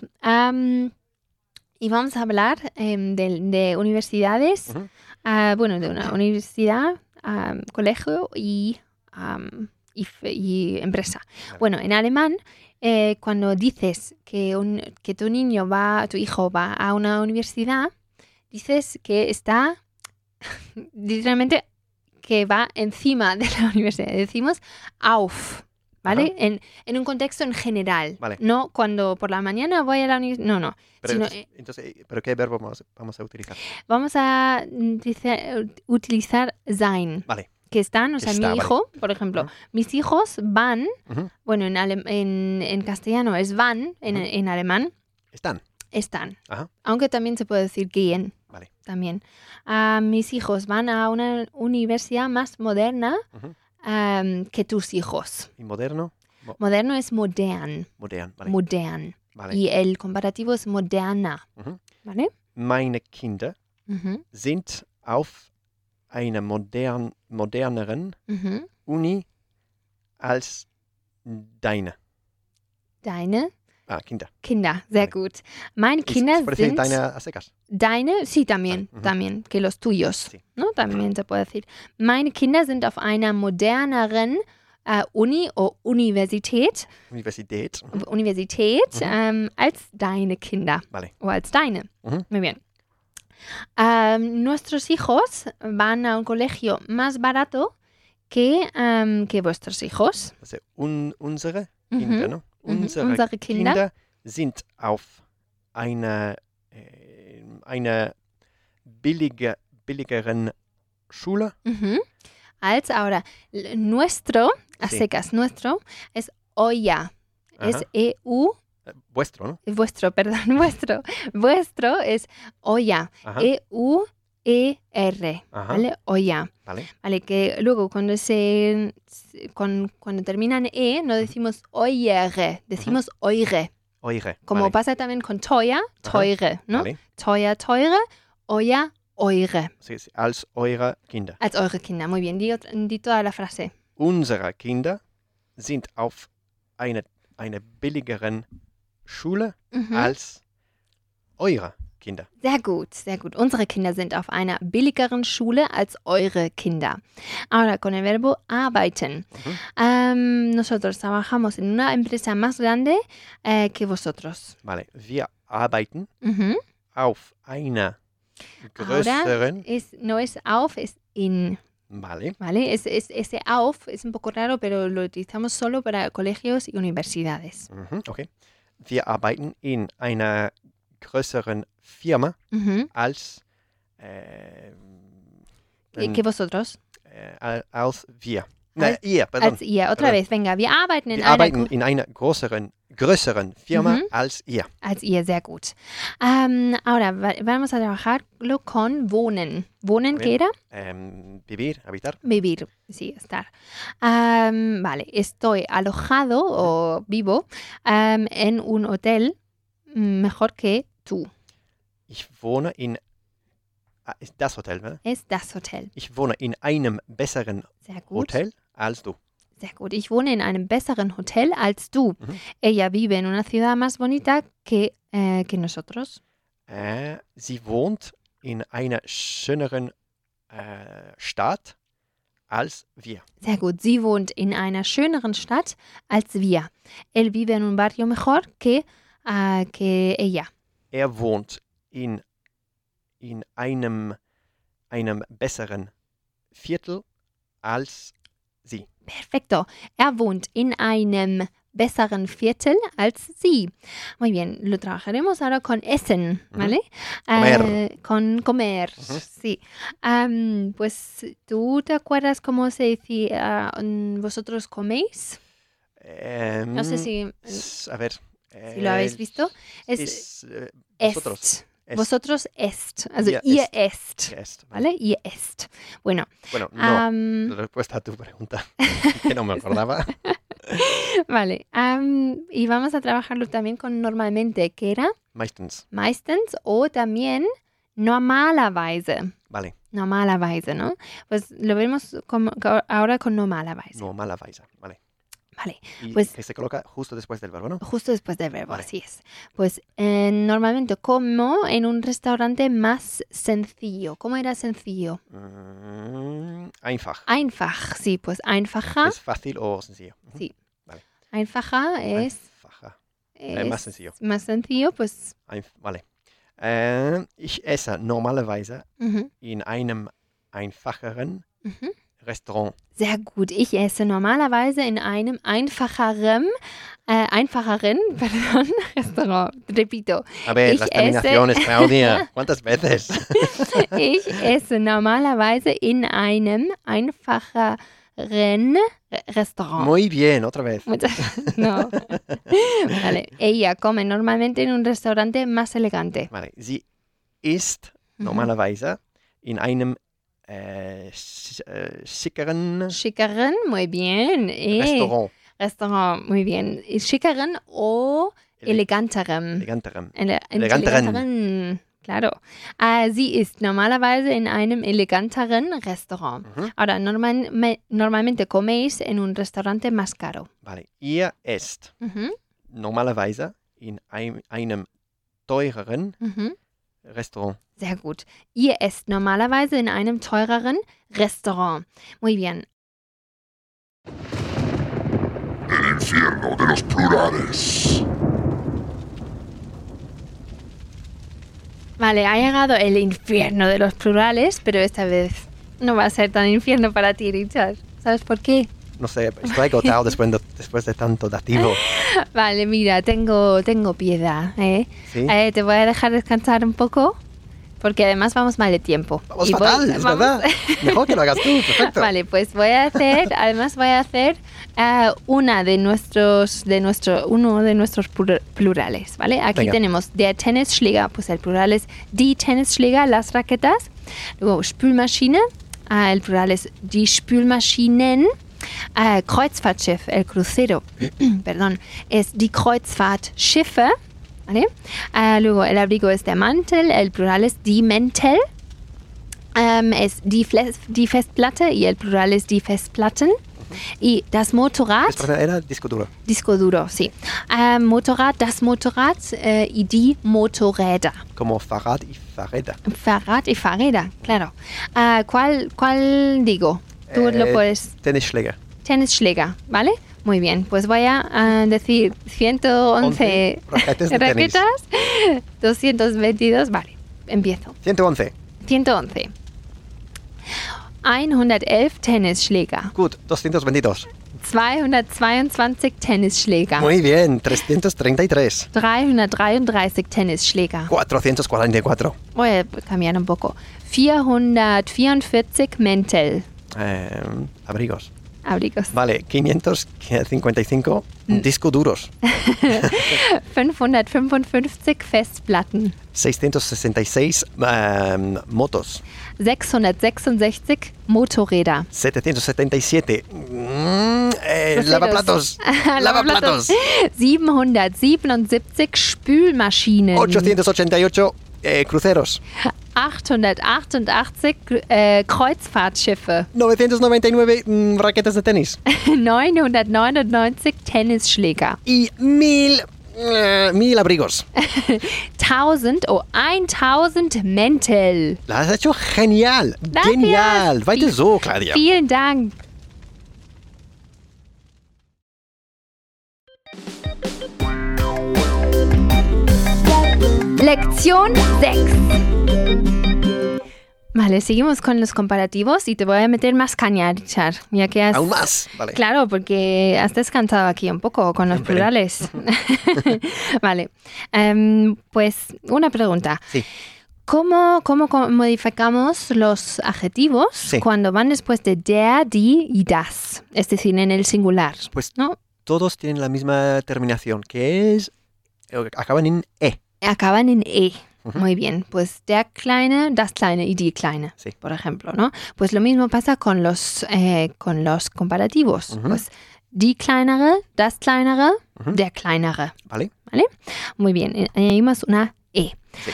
Y vamos a hablar de universidades. Ujú. Bueno, de una universidad, colegio y empresa. Vale. Bueno, en alemán, cuando dices que tu hijo va a una universidad, dices que está, literalmente, que va encima de la universidad. Decimos auf, ¿vale? En un contexto en general. Vale. No cuando por la mañana voy a la universidad. No. Pero, Sino, ¿pero qué verbo vamos a utilizar? Vamos a utilizar sein. Vale. Que están, o sea, Está, mi vale. hijo, por ejemplo, Ujú. mis hijos van, Ujú. bueno, en castellano es van, en alemán están. Ajá. Aunque también se puede decir gehen, Vale. también. Mis hijos van a una universidad más moderna Ujú. que tus hijos. ¿Y moderno? Moderno es modern, Modern. Vale. modern. Vale. Y el comparativo es moderna, Ujú. ¿vale? Meine Kinder Ujú, sind auf einer moderneren ujú. Uni als deine. Deine Kinder. Kinder, sehr Vale. gut. Meine Kinder ¿Se puede decir sind... deine a secas? Deine, sí, también, Vale, ujú. también, que los tuyos, Sí. ¿no? También se puede decir. Meine Kinder sind auf einer moderneren Uni o Universität, Universität. Mhm. Universität als deine Kinder Vale. o als deine. Ujú. Muy bien. Nuestros hijos van a un colegio más barato que vuestros hijos. Also unsere Mhm. Kinder, ne? Mhm. Unsere Unsere Kinder. sind auf einer billigeren Schule. Ujú. Als ahora, nuestro, a Sí. secas, nuestro es olla. Es Ajá. EU, Vuestro, ¿no? vuestro, perdón, vuestro. Vuestro es olla. Ajá. EUER, Ajá. ¿vale? Olla. Vale. Vale, que luego cuando cuando termina en E no decimos oyer, decimos oire. Eure. Como Vale. pasa también con teuer, teure, ¿no? Vale. Teuer, teure, olla, eure. Sí, sí, als eure Kinder. Als eure Kinder. Muy bien, di toda la frase. Unsere Kinder sind auf einer billigeren Schule Mhm. als eure Kinder. Sehr gut, sehr gut. Unsere Kinder sind auf einer billigeren Schule als eure Kinder. Ahora, con el verbo arbeiten. Nosotros trabajamos en una empresa más grande que vosotros. Vale, wir arbeiten Mhm. auf einer Ahora größeren... no es auf, es in. Vale, ¿Vale? Ese auf es un poco raro, pero lo utilizamos solo para colegios y universidades. okay. Wir arbeiten in einer größeren Firma Mhm. als... ¿Que vosotros? als wir. Als- Ihr, perdón. Als ihr. Otra Perdón. vez, venga. Wir arbeiten in Wir einer arbeiten in einer größeren Firma als ihr. Als ihr, sehr gut. Ahora, vamos a trabajarlo con wohnen. ¿Wohnen Muy qué era? Vivir, habitar. Vivir, sí, estar. Vale, estoy alojado o vivo en un hotel mejor que tú. Ich wohne in... ist das Hotel, ne? Es das Hotel. Ich wohne in einem besseren Sehr gut. Hotel als du. Sehr gut. Ich wohne in einem besseren Hotel als du. Mhm. Ella vive en una ciudad más bonita que nosotros. Sie wohnt in einer schöneren Stadt als wir. Sehr gut. Sie wohnt in einer schöneren Stadt als wir. Él vive en un barrio mejor que ella. Er wohnt in einem besseren Viertel als sie. Perfecto. Er wohnt in einem besseren Viertel als sie. Muy bien. Lo trabajaremos ahora con essen, ¿vale? Comer. Con comer, sí. Pues, ¿tú te acuerdas cómo se decía vosotros coméis? No sé si A ver. lo habéis visto. Vosotros. Est. Vosotros est. Also Ihr ihr esst. est. ¿Vale? Ihr est. Bueno. Bueno, no. La respuesta a tu pregunta, que no me acordaba. Vale. Y vamos a trabajarlo también con normalmente, que era Meistens. meistens o también normalerweise. Vale. Normalerweise, ¿no? Pues lo vemos ahora con normalerweise. Normalerweise. Vale. Vale. Y Pues- que se coloca justo después del verbo, ¿no? Justo después del verbo, Vale. así es. Pues normalmente como en un restaurante más sencillo. ¿Cómo era sencillo? Einfach. Einfach, sí, pues einfacher. Es fácil o sencillo. Sí. Vale. Einfacher es Einfacher. Más sencillo. Más sencillo, pues. Vale. Ich esse normalerweise Mhm. in einem einfacheren Mhm. Restaurant. Sehr gut. Ich esse normalerweise in einem einfacheren perdón, Restaurant. Repito. A ver, Ich las terminaciones, Claudia. ¿Cuántas veces? Ich esse normalerweise in einem einfacheren Restaurant. Muy bien, otra vez. No. Vale. Ella come normalmente en un restaurante más elegante. Vale. Sie isst normalerweise in einem schickeren Schickeren, muy bien. Restaurant, muy bien. Schickeren o eleganterem. eleganterem. Eleganteren. Claro. Sie ist normalerweise in einem eleganteren Restaurant. Ahora, normalmente coméis en un restaurante más caro. Vale. Ihr esst Mhm. normalerweise in einem teureren Mhm. Restaurant. Sehr gut. Ihr esst normalerweise in einem teureren Restaurant. Muy bien. El infierno de los plurales. Vale, ha llegado el infierno de los plurales, pero esta vez no va a ser tan infierno para ti, Richard. ¿Sabes por qué? No sé, estoy agotado después de tanto dativo. Vale, mira, tengo piedad, ¿eh? ¿Sí? Te voy a dejar descansar un poco, porque además vamos mal de tiempo. Vamos Y fatal, es vamos- verdad. Mejor que lo hagas tú, perfecto. Vale, pues voy a hacer uno de nuestros plurales, ¿vale? Aquí Venga. tenemos der Tennisschläger, pues el plural es die Tennisschläger, las raquetas. Luego Spülmaschine, el plural es die Spülmaschinen. Kreuzfahrtschiff, el crucero, perdón, es die Kreuzfahrtschiffe, ¿vale? Luego el abrigo es der Mantel, el plural es die Mäntel. Es die Festplatte y el plural es die Festplatten. Y das Motorrad, Después era disco duro. disco duro, sí. Motorrad, das Motorrad y die Motorräder. Como Fahrrad y Fahrräder. Fahrrad y Fahrräder, claro. ¿Cuál digo? Tú lo puedes. Tennisschläger. Tennisschläger, ¿vale? Muy bien, pues voy a decir 111 raquetes de tenis. raquetas, 222, vale, empiezo. 111. 111. 111 Tennisschläger. Gut, 222. 222 Tennisschläger. Muy bien, 333. 333 Tennisschläger. 444. Voy a cambiar un poco. 444 Mäntel. Abrigos. Abrigos. Vale, 555 disco duros. 555 Festplatten. 666 motos. 666 Motorräder. 777 Groseros. lavaplatos. Lavaplatos. 777 Spülmaschinen. 888 cruceros. 888 Kreuzfahrtschiffe. 999 raquetas de tenis. 999 Tennisschläger. Y 1000 abrigos. 1000 Mäntel. La has hecho genial. Gracias. Genial. Weiter so, Claudia. Vielen Dank. Lección 6. Vale, seguimos con los comparativos y te voy a meter más caña, Richard. Ya que has... Aún más. Vale. Claro, porque has descansado aquí un poco con los Hombre. plurales. Vale. Pues una pregunta. Sí. ¿Cómo modificamos los adjetivos Sí. cuando van después de der, die y das? Es decir, en el singular. Pues ¿No? todos tienen la misma terminación, que es... acaban en E. Acaban en E. Ujú. Muy bien. Pues der Kleine, das Kleine y die Kleine, Sí. por ejemplo, ¿no? Pues lo mismo pasa con los comparativos. Ujú. Pues die Kleinere, das Kleinere, Ujú. der Kleinere. ¿Vale? Muy bien. Añadimos una E. Sí.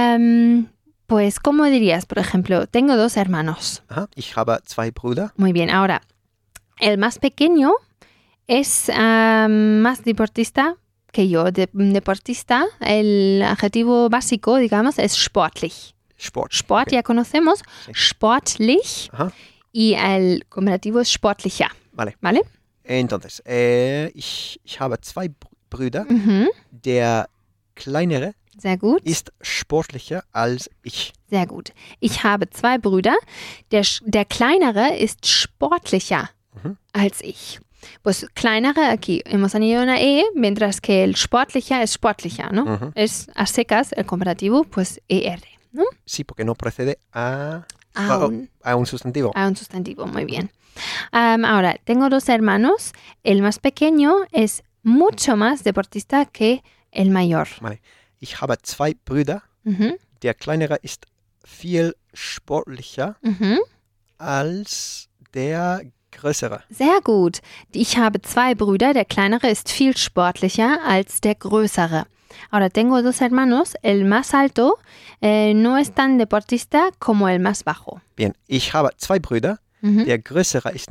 Pues, ¿cómo dirías? Por ejemplo, tengo 2 hermanos. Ajá. Ich habe zwei Brüder. Muy bien. Ahora, el más pequeño es más deportista que yo. Deportista, el adjetivo básico, digamos, es sportlich. Sport. Sport Okay. ya conocemos, Sí. sportlich, Ajá. y el comparativo es sportlicher. Vale. ¿Vale? Entonces, ich habe zwei Brüder. Mhm. Der kleinere Sehr gut. ist sportlicher als ich. Sehr gut. Ich habe 2 Brüder. Der kleinere ist sportlicher Mhm. als ich. Pues kleinere, aquí hemos añadido una E, mientras que el sportlicher es sportlicher, ¿no? Ujú. Es a secas el comparativo, pues ER, ¿no? Sí, porque no precede A a un sustantivo. un sustantivo, muy bien. Ahora, tengo 2 hermanos. El más pequeño es mucho más deportista que el mayor. Vale. Ich habe zwei Brüder. Mhm. Der kleinere ist viel sportlicher Mhm. als der größere. Sehr gut. Ich habe 2 Brüder. Der kleinere ist viel sportlicher als der größere. Ahora, tengo 2 hermanos. El más alto no es tan deportista como el más bajo. Bien, ich habe zwei Brüder. Mhm. Der größere ist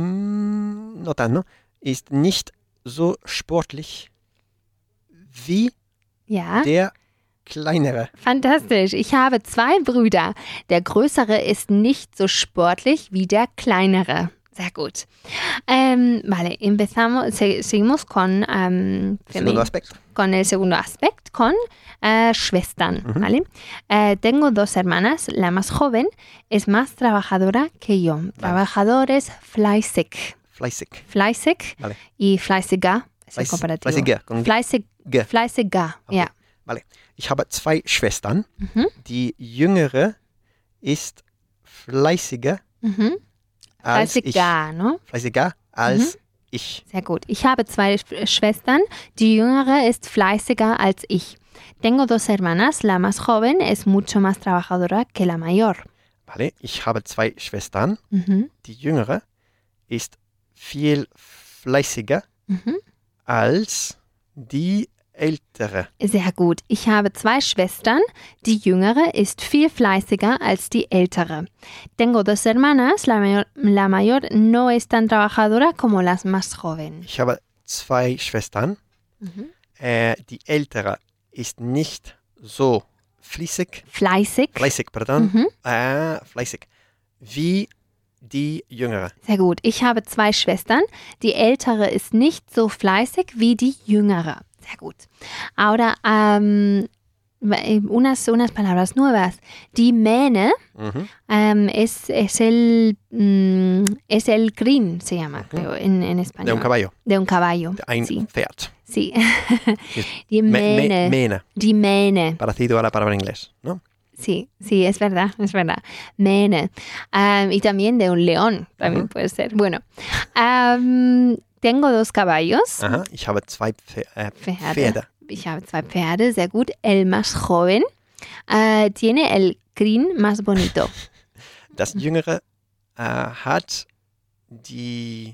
ist nicht so sportlich wie Ja, der kleinere. fantastisch. Ich habe 2 Brüder. Der größere ist nicht so sportlich wie der kleinere. Sehr gut. Vale, seguimos con, Segundo aspecto. con el segundo aspecto, con Schwestern. Ujú. ¿Vale? Tengo 2 hermanas. La más joven es más trabajadora que yo. Trabajador es fleißig. Fleißig. Fleißig Vale. y fleißiger es el Fleiß- comparativo. Fleißiger. Con G. Fleißiger, Okay. ja. Vale. Ich habe 2 Schwestern. Mhm. Die jüngere ist fleißiger Mhm. als ich. Fleißiger, ¿no? Fleißiger als ich. Sehr gut. Ich habe 2 Schwestern. Die jüngere ist fleißiger als ich. Tengo 2 hermanas. La más joven es mucho más trabajadora que la mayor. Vale. Ich habe 2 Schwestern. Mhm. Die jüngere ist viel fleißiger Mhm. als die ältere. Sehr gut. Ich habe 2 Schwestern. Die jüngere ist viel fleißiger als die ältere. Tengo 2 hermanas. La mayor no es tan trabajadora como las más jóvenes. Ich habe 2 Schwestern. Mhm. Die ältere ist nicht so fleißig, Fleißig. pardon, Mhm. fleißig, wie die jüngere. Sehr gut. Ich habe 2 Schwestern. Die ältere ist nicht so fleißig wie die jüngere. Sehr gut. Ahora, unas palabras nuevas. Die Mähne Mhm. es el crin, se llama, creo, en español. De un caballo, De un caballo. ein Sí. Pferd. Sí. Die Mähne. Mähne, Die Mähne. parecido a la palabra en inglés, ¿no? Sí, sí, es verdad, es verdad. Mähne. Y también de un león, también puede ser. Bueno, tengo 2 caballos. Aha, ich habe 2 Pferde. Ich habe 2 Pferde, sehr gut. El más joven tiene el crin más bonito. Das Jüngere hat die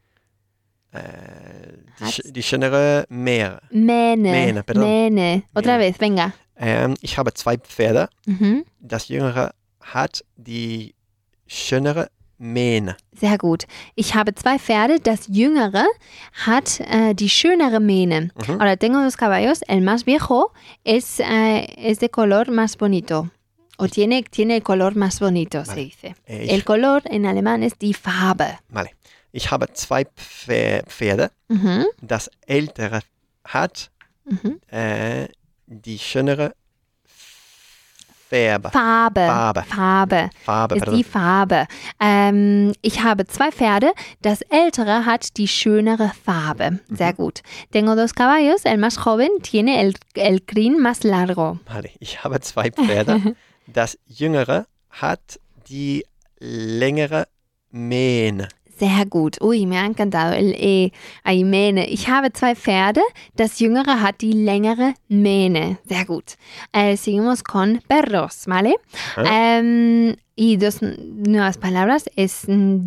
schönere Mähne. Mähne. perdón. Mähne. Otra Mähne. vez, venga. Ich habe 2 Pferde. Mhm. Das Jüngere hat die schönere Mähne. Sehr gut. Ich habe 2 Pferde. Das jüngere hat die schönere Mähne. Mhm. Ahora tengo 2 caballos. El más viejo es de color más bonito. O tiene el color más bonito, Vale. se dice. Ich, El color en alemán es die Farbe. vale. Ich habe 2 Pferde. Mhm. Das ältere hat Mhm. die schönere Farbe. Farbe Farbe, ist pardon. die Farbe. Ich habe 2 Pferde. Das ältere hat die schönere Farbe. Sehr gut. Tengo 2 caballos. El más joven tiene el crin más largo. Vale, ich habe 2 Pferde. Das jüngere hat die längere Mähne. Sehr gut. Uy, me ha encantado el ahí, Mähne. Ich habe 2 Pferde. Das jüngere hat die längere Mähne. Sehr gut. Seguimos con perros, ¿vale? Y 2 nuevas palabras es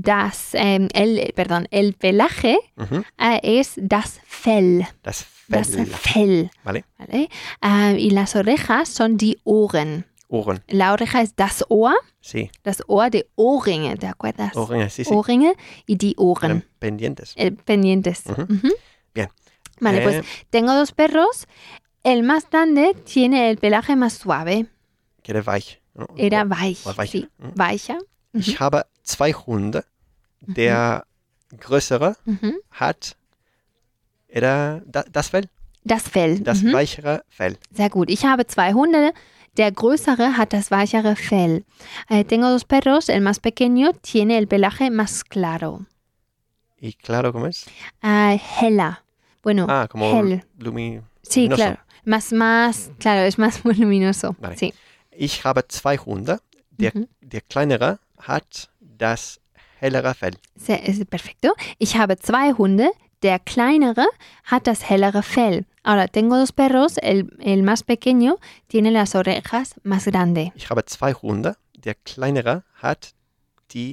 el pelaje Mhm. es das Fell. Das Das Fell. Fell. Vale, ¿Vale? Y las orejas son die Ohren. Ohren. La oreja es das Ohr de Ohrringe, ¿te acuerdas? Ohrringe, sí, sí. Ohrringe y die Ohren. Pendientes. Pendientes. Ujú. Ujú. Bien. Vale, pues tengo 2 perros. El más grande tiene el pelaje más suave. Que era weich. ¿no? Era O weich. weicher. Sí, Mhm. weicher. Ich habe 2 Hunde. Der größere Mhm. hat das Fell, Das Fell. das Mhm. weichere Fell. Sehr gut. Ich habe 2 Hunde. Der größere hat das weichere Fell. Tengo 2 perros. El más pequeño tiene el pelaje más claro. Y claro, ¿cómo es? Heller. Bueno, Como hell. Sí, luminoso. claro. Más, claro, es más luminoso. Vale. Sí. Ich habe 2 Hunde. Der kleinere hat das hellere Fell. Perfecto. Ich habe 2 Hunde. Der kleinere hat das hellere Fell. Ahora, tengo 2 perros. El más pequeño tiene las orejas más grandes. Ich habe 2 Hunde. Der kleinere hat die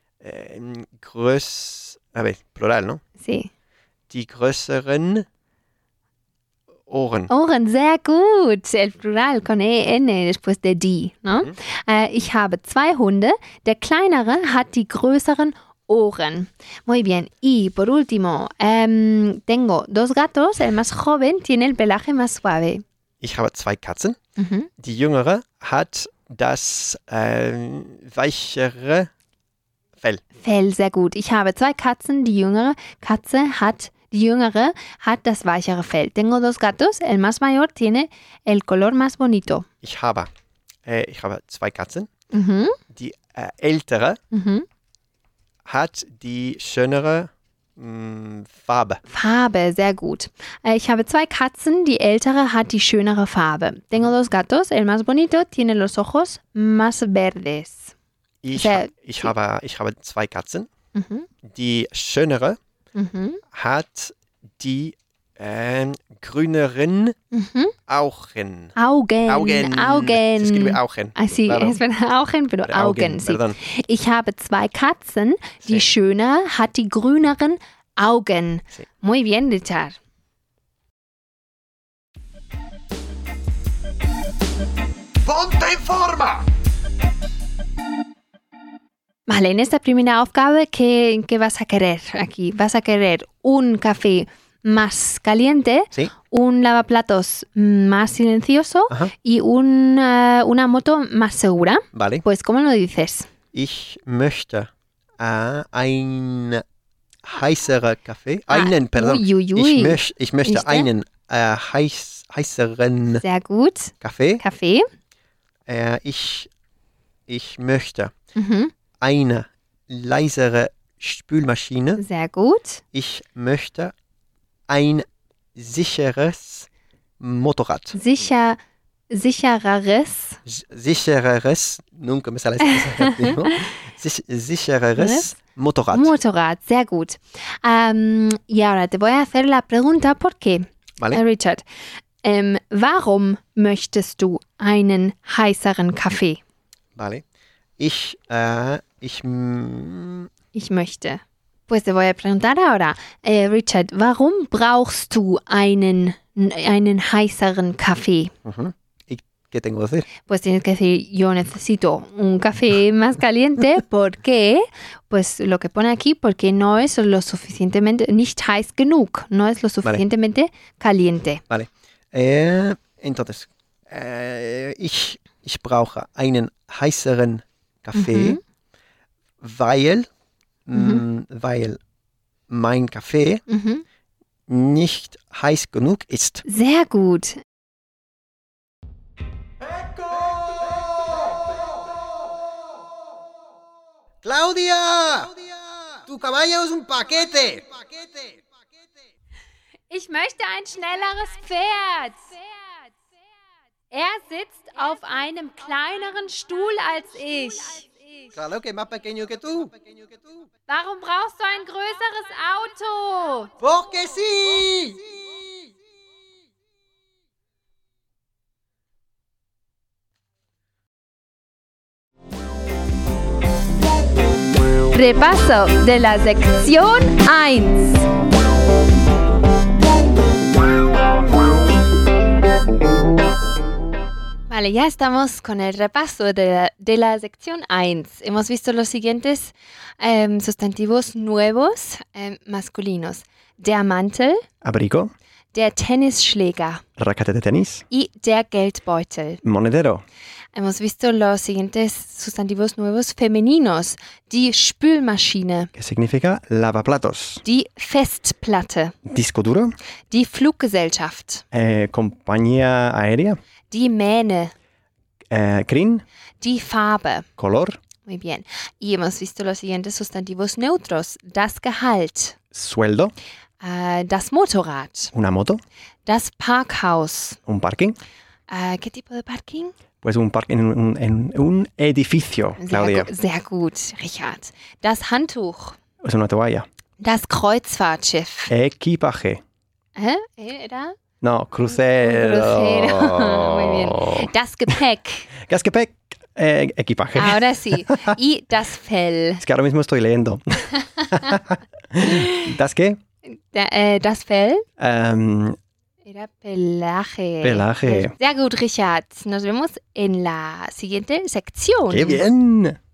plural, ¿no? Sí. Die größeren Ohren. Ohren, sehr gut. El plural con EN después de die, ¿no? Ich habe 2 Hunde. Der kleinere hat die größeren Ohren. Muy bien. Y por último, tengo 2 gatos. El más joven tiene el pelaje más suave. Ich habe 2 Katzen. Mhm. Die jüngere hat das weichere Fell. Fell, sehr gut. Ich habe 2 Katzen. Die jüngere hat das weichere Fell. Tengo 2 gatos. El más mayor tiene el color más bonito. Ich habe 2 Katzen. Mhm. Die ältere Mhm. hat die schönere Farbe. Farbe, sehr gut. Ich habe 2 Katzen. Die ältere hat die schönere Farbe. Tengo 2 gatos. El más bonito tiene los ojos más verdes. Ich Sehr- habe 2 Katzen. Mhm. Die schönere Mhm. hat die grüneren Mhm. Augen. Augen. Se escribe Augen. Ah, sí, Claro. es verdad, Augen, pero Augen, sí. Perdón. Ich habe 2 Katzen. Die Sí. schöne hat die grüneren Augen. Sí. Muy bien, Richard. ¡Ponte en forma! Vale, en esta primera Aufgabe, ¿qué vas a querer aquí? ¿Vas a querer un café más caliente, Sí. un lavaplatos más silencioso Ajá. y una moto más segura? Vale. Pues, ¿cómo lo dices? Ich möchte ein heißerer Kaffee. Pardon. Uy, uy, uy. Ich möchte ¿Viste? einen heißeren Sehr gut. Kaffee. Kaffee. Ich möchte Mhm. eine leisere Spülmaschine. Sehr gut. Ich möchte ein sicheres Motorrad. Sichereres. Sichereres, nunca me sale esa sichereres Motorrad. Motorrad. Sehr gut. Y ahora te voy a hacer la pregunta, ¿por qué? Vale. Richard, warum möchtest du einen heißeren Kaffee? Vale. Ich möchte. Pues te voy a preguntar ahora, Richard, warum brauchst du einen heißeren Kaffee? ¿Qué tengo que decir? Pues tienes que decir, yo necesito un café más caliente. ¿Por qué? Pues lo que pone aquí, porque no es lo suficientemente, nicht heiß genug, no es lo suficientemente caliente. Vale. Entonces, ich brauche einen heißeren Kaffee, weil mein Kaffee nicht heiß genug ist. Sehr gut. ¡Claudia! ¡Tu caballo es un paquete! Ich möchte ein schnelleres Pferd. Er sitzt auf einem kleineren Stuhl als ich. Claro que es más pequeño que tú. Warum brauchst du ein größeres Auto? ¡Porque sí! Repaso de la sección 1. Vale, ya estamos con el repaso de la sección 1. Hemos visto los siguientes sustantivos nuevos masculinos. Der Mantel, Abrigo, der Tennisschläger raquete de tenis, y der Geldbeutel. monedero, Hemos visto los siguientes sustantivos nuevos femeninos. Die Spülmaschine, que significa lavaplatos, die Festplatte, disco duro, die Fluggesellschaft, compañía aérea, die Mähne, crin, die Farbe. color, Muy bien. Y hemos visto los siguientes sustantivos neutros. Das Gehalt, sueldo, das Motorrad, una moto, das Parkhaus. un parking. ¿Qué tipo de parking? Pues un parking en un edificio, Claudia. Sehr gut, Richard. Das Handtuch, Es una toalla. das Kreuzfahrtschiff. Equipaje. ¿Era? No, crucero. Crucero. Muy bien. Das Gepäck. Gepäck, equipaje. Ahora sí. Y das Fell. Es que ahora mismo estoy leyendo. ¿Das qué? Das Fell. Era Pelaje. Pelaje. Sehr gut, Richard. Nos vemos en la siguiente sección. ¡Qué bien!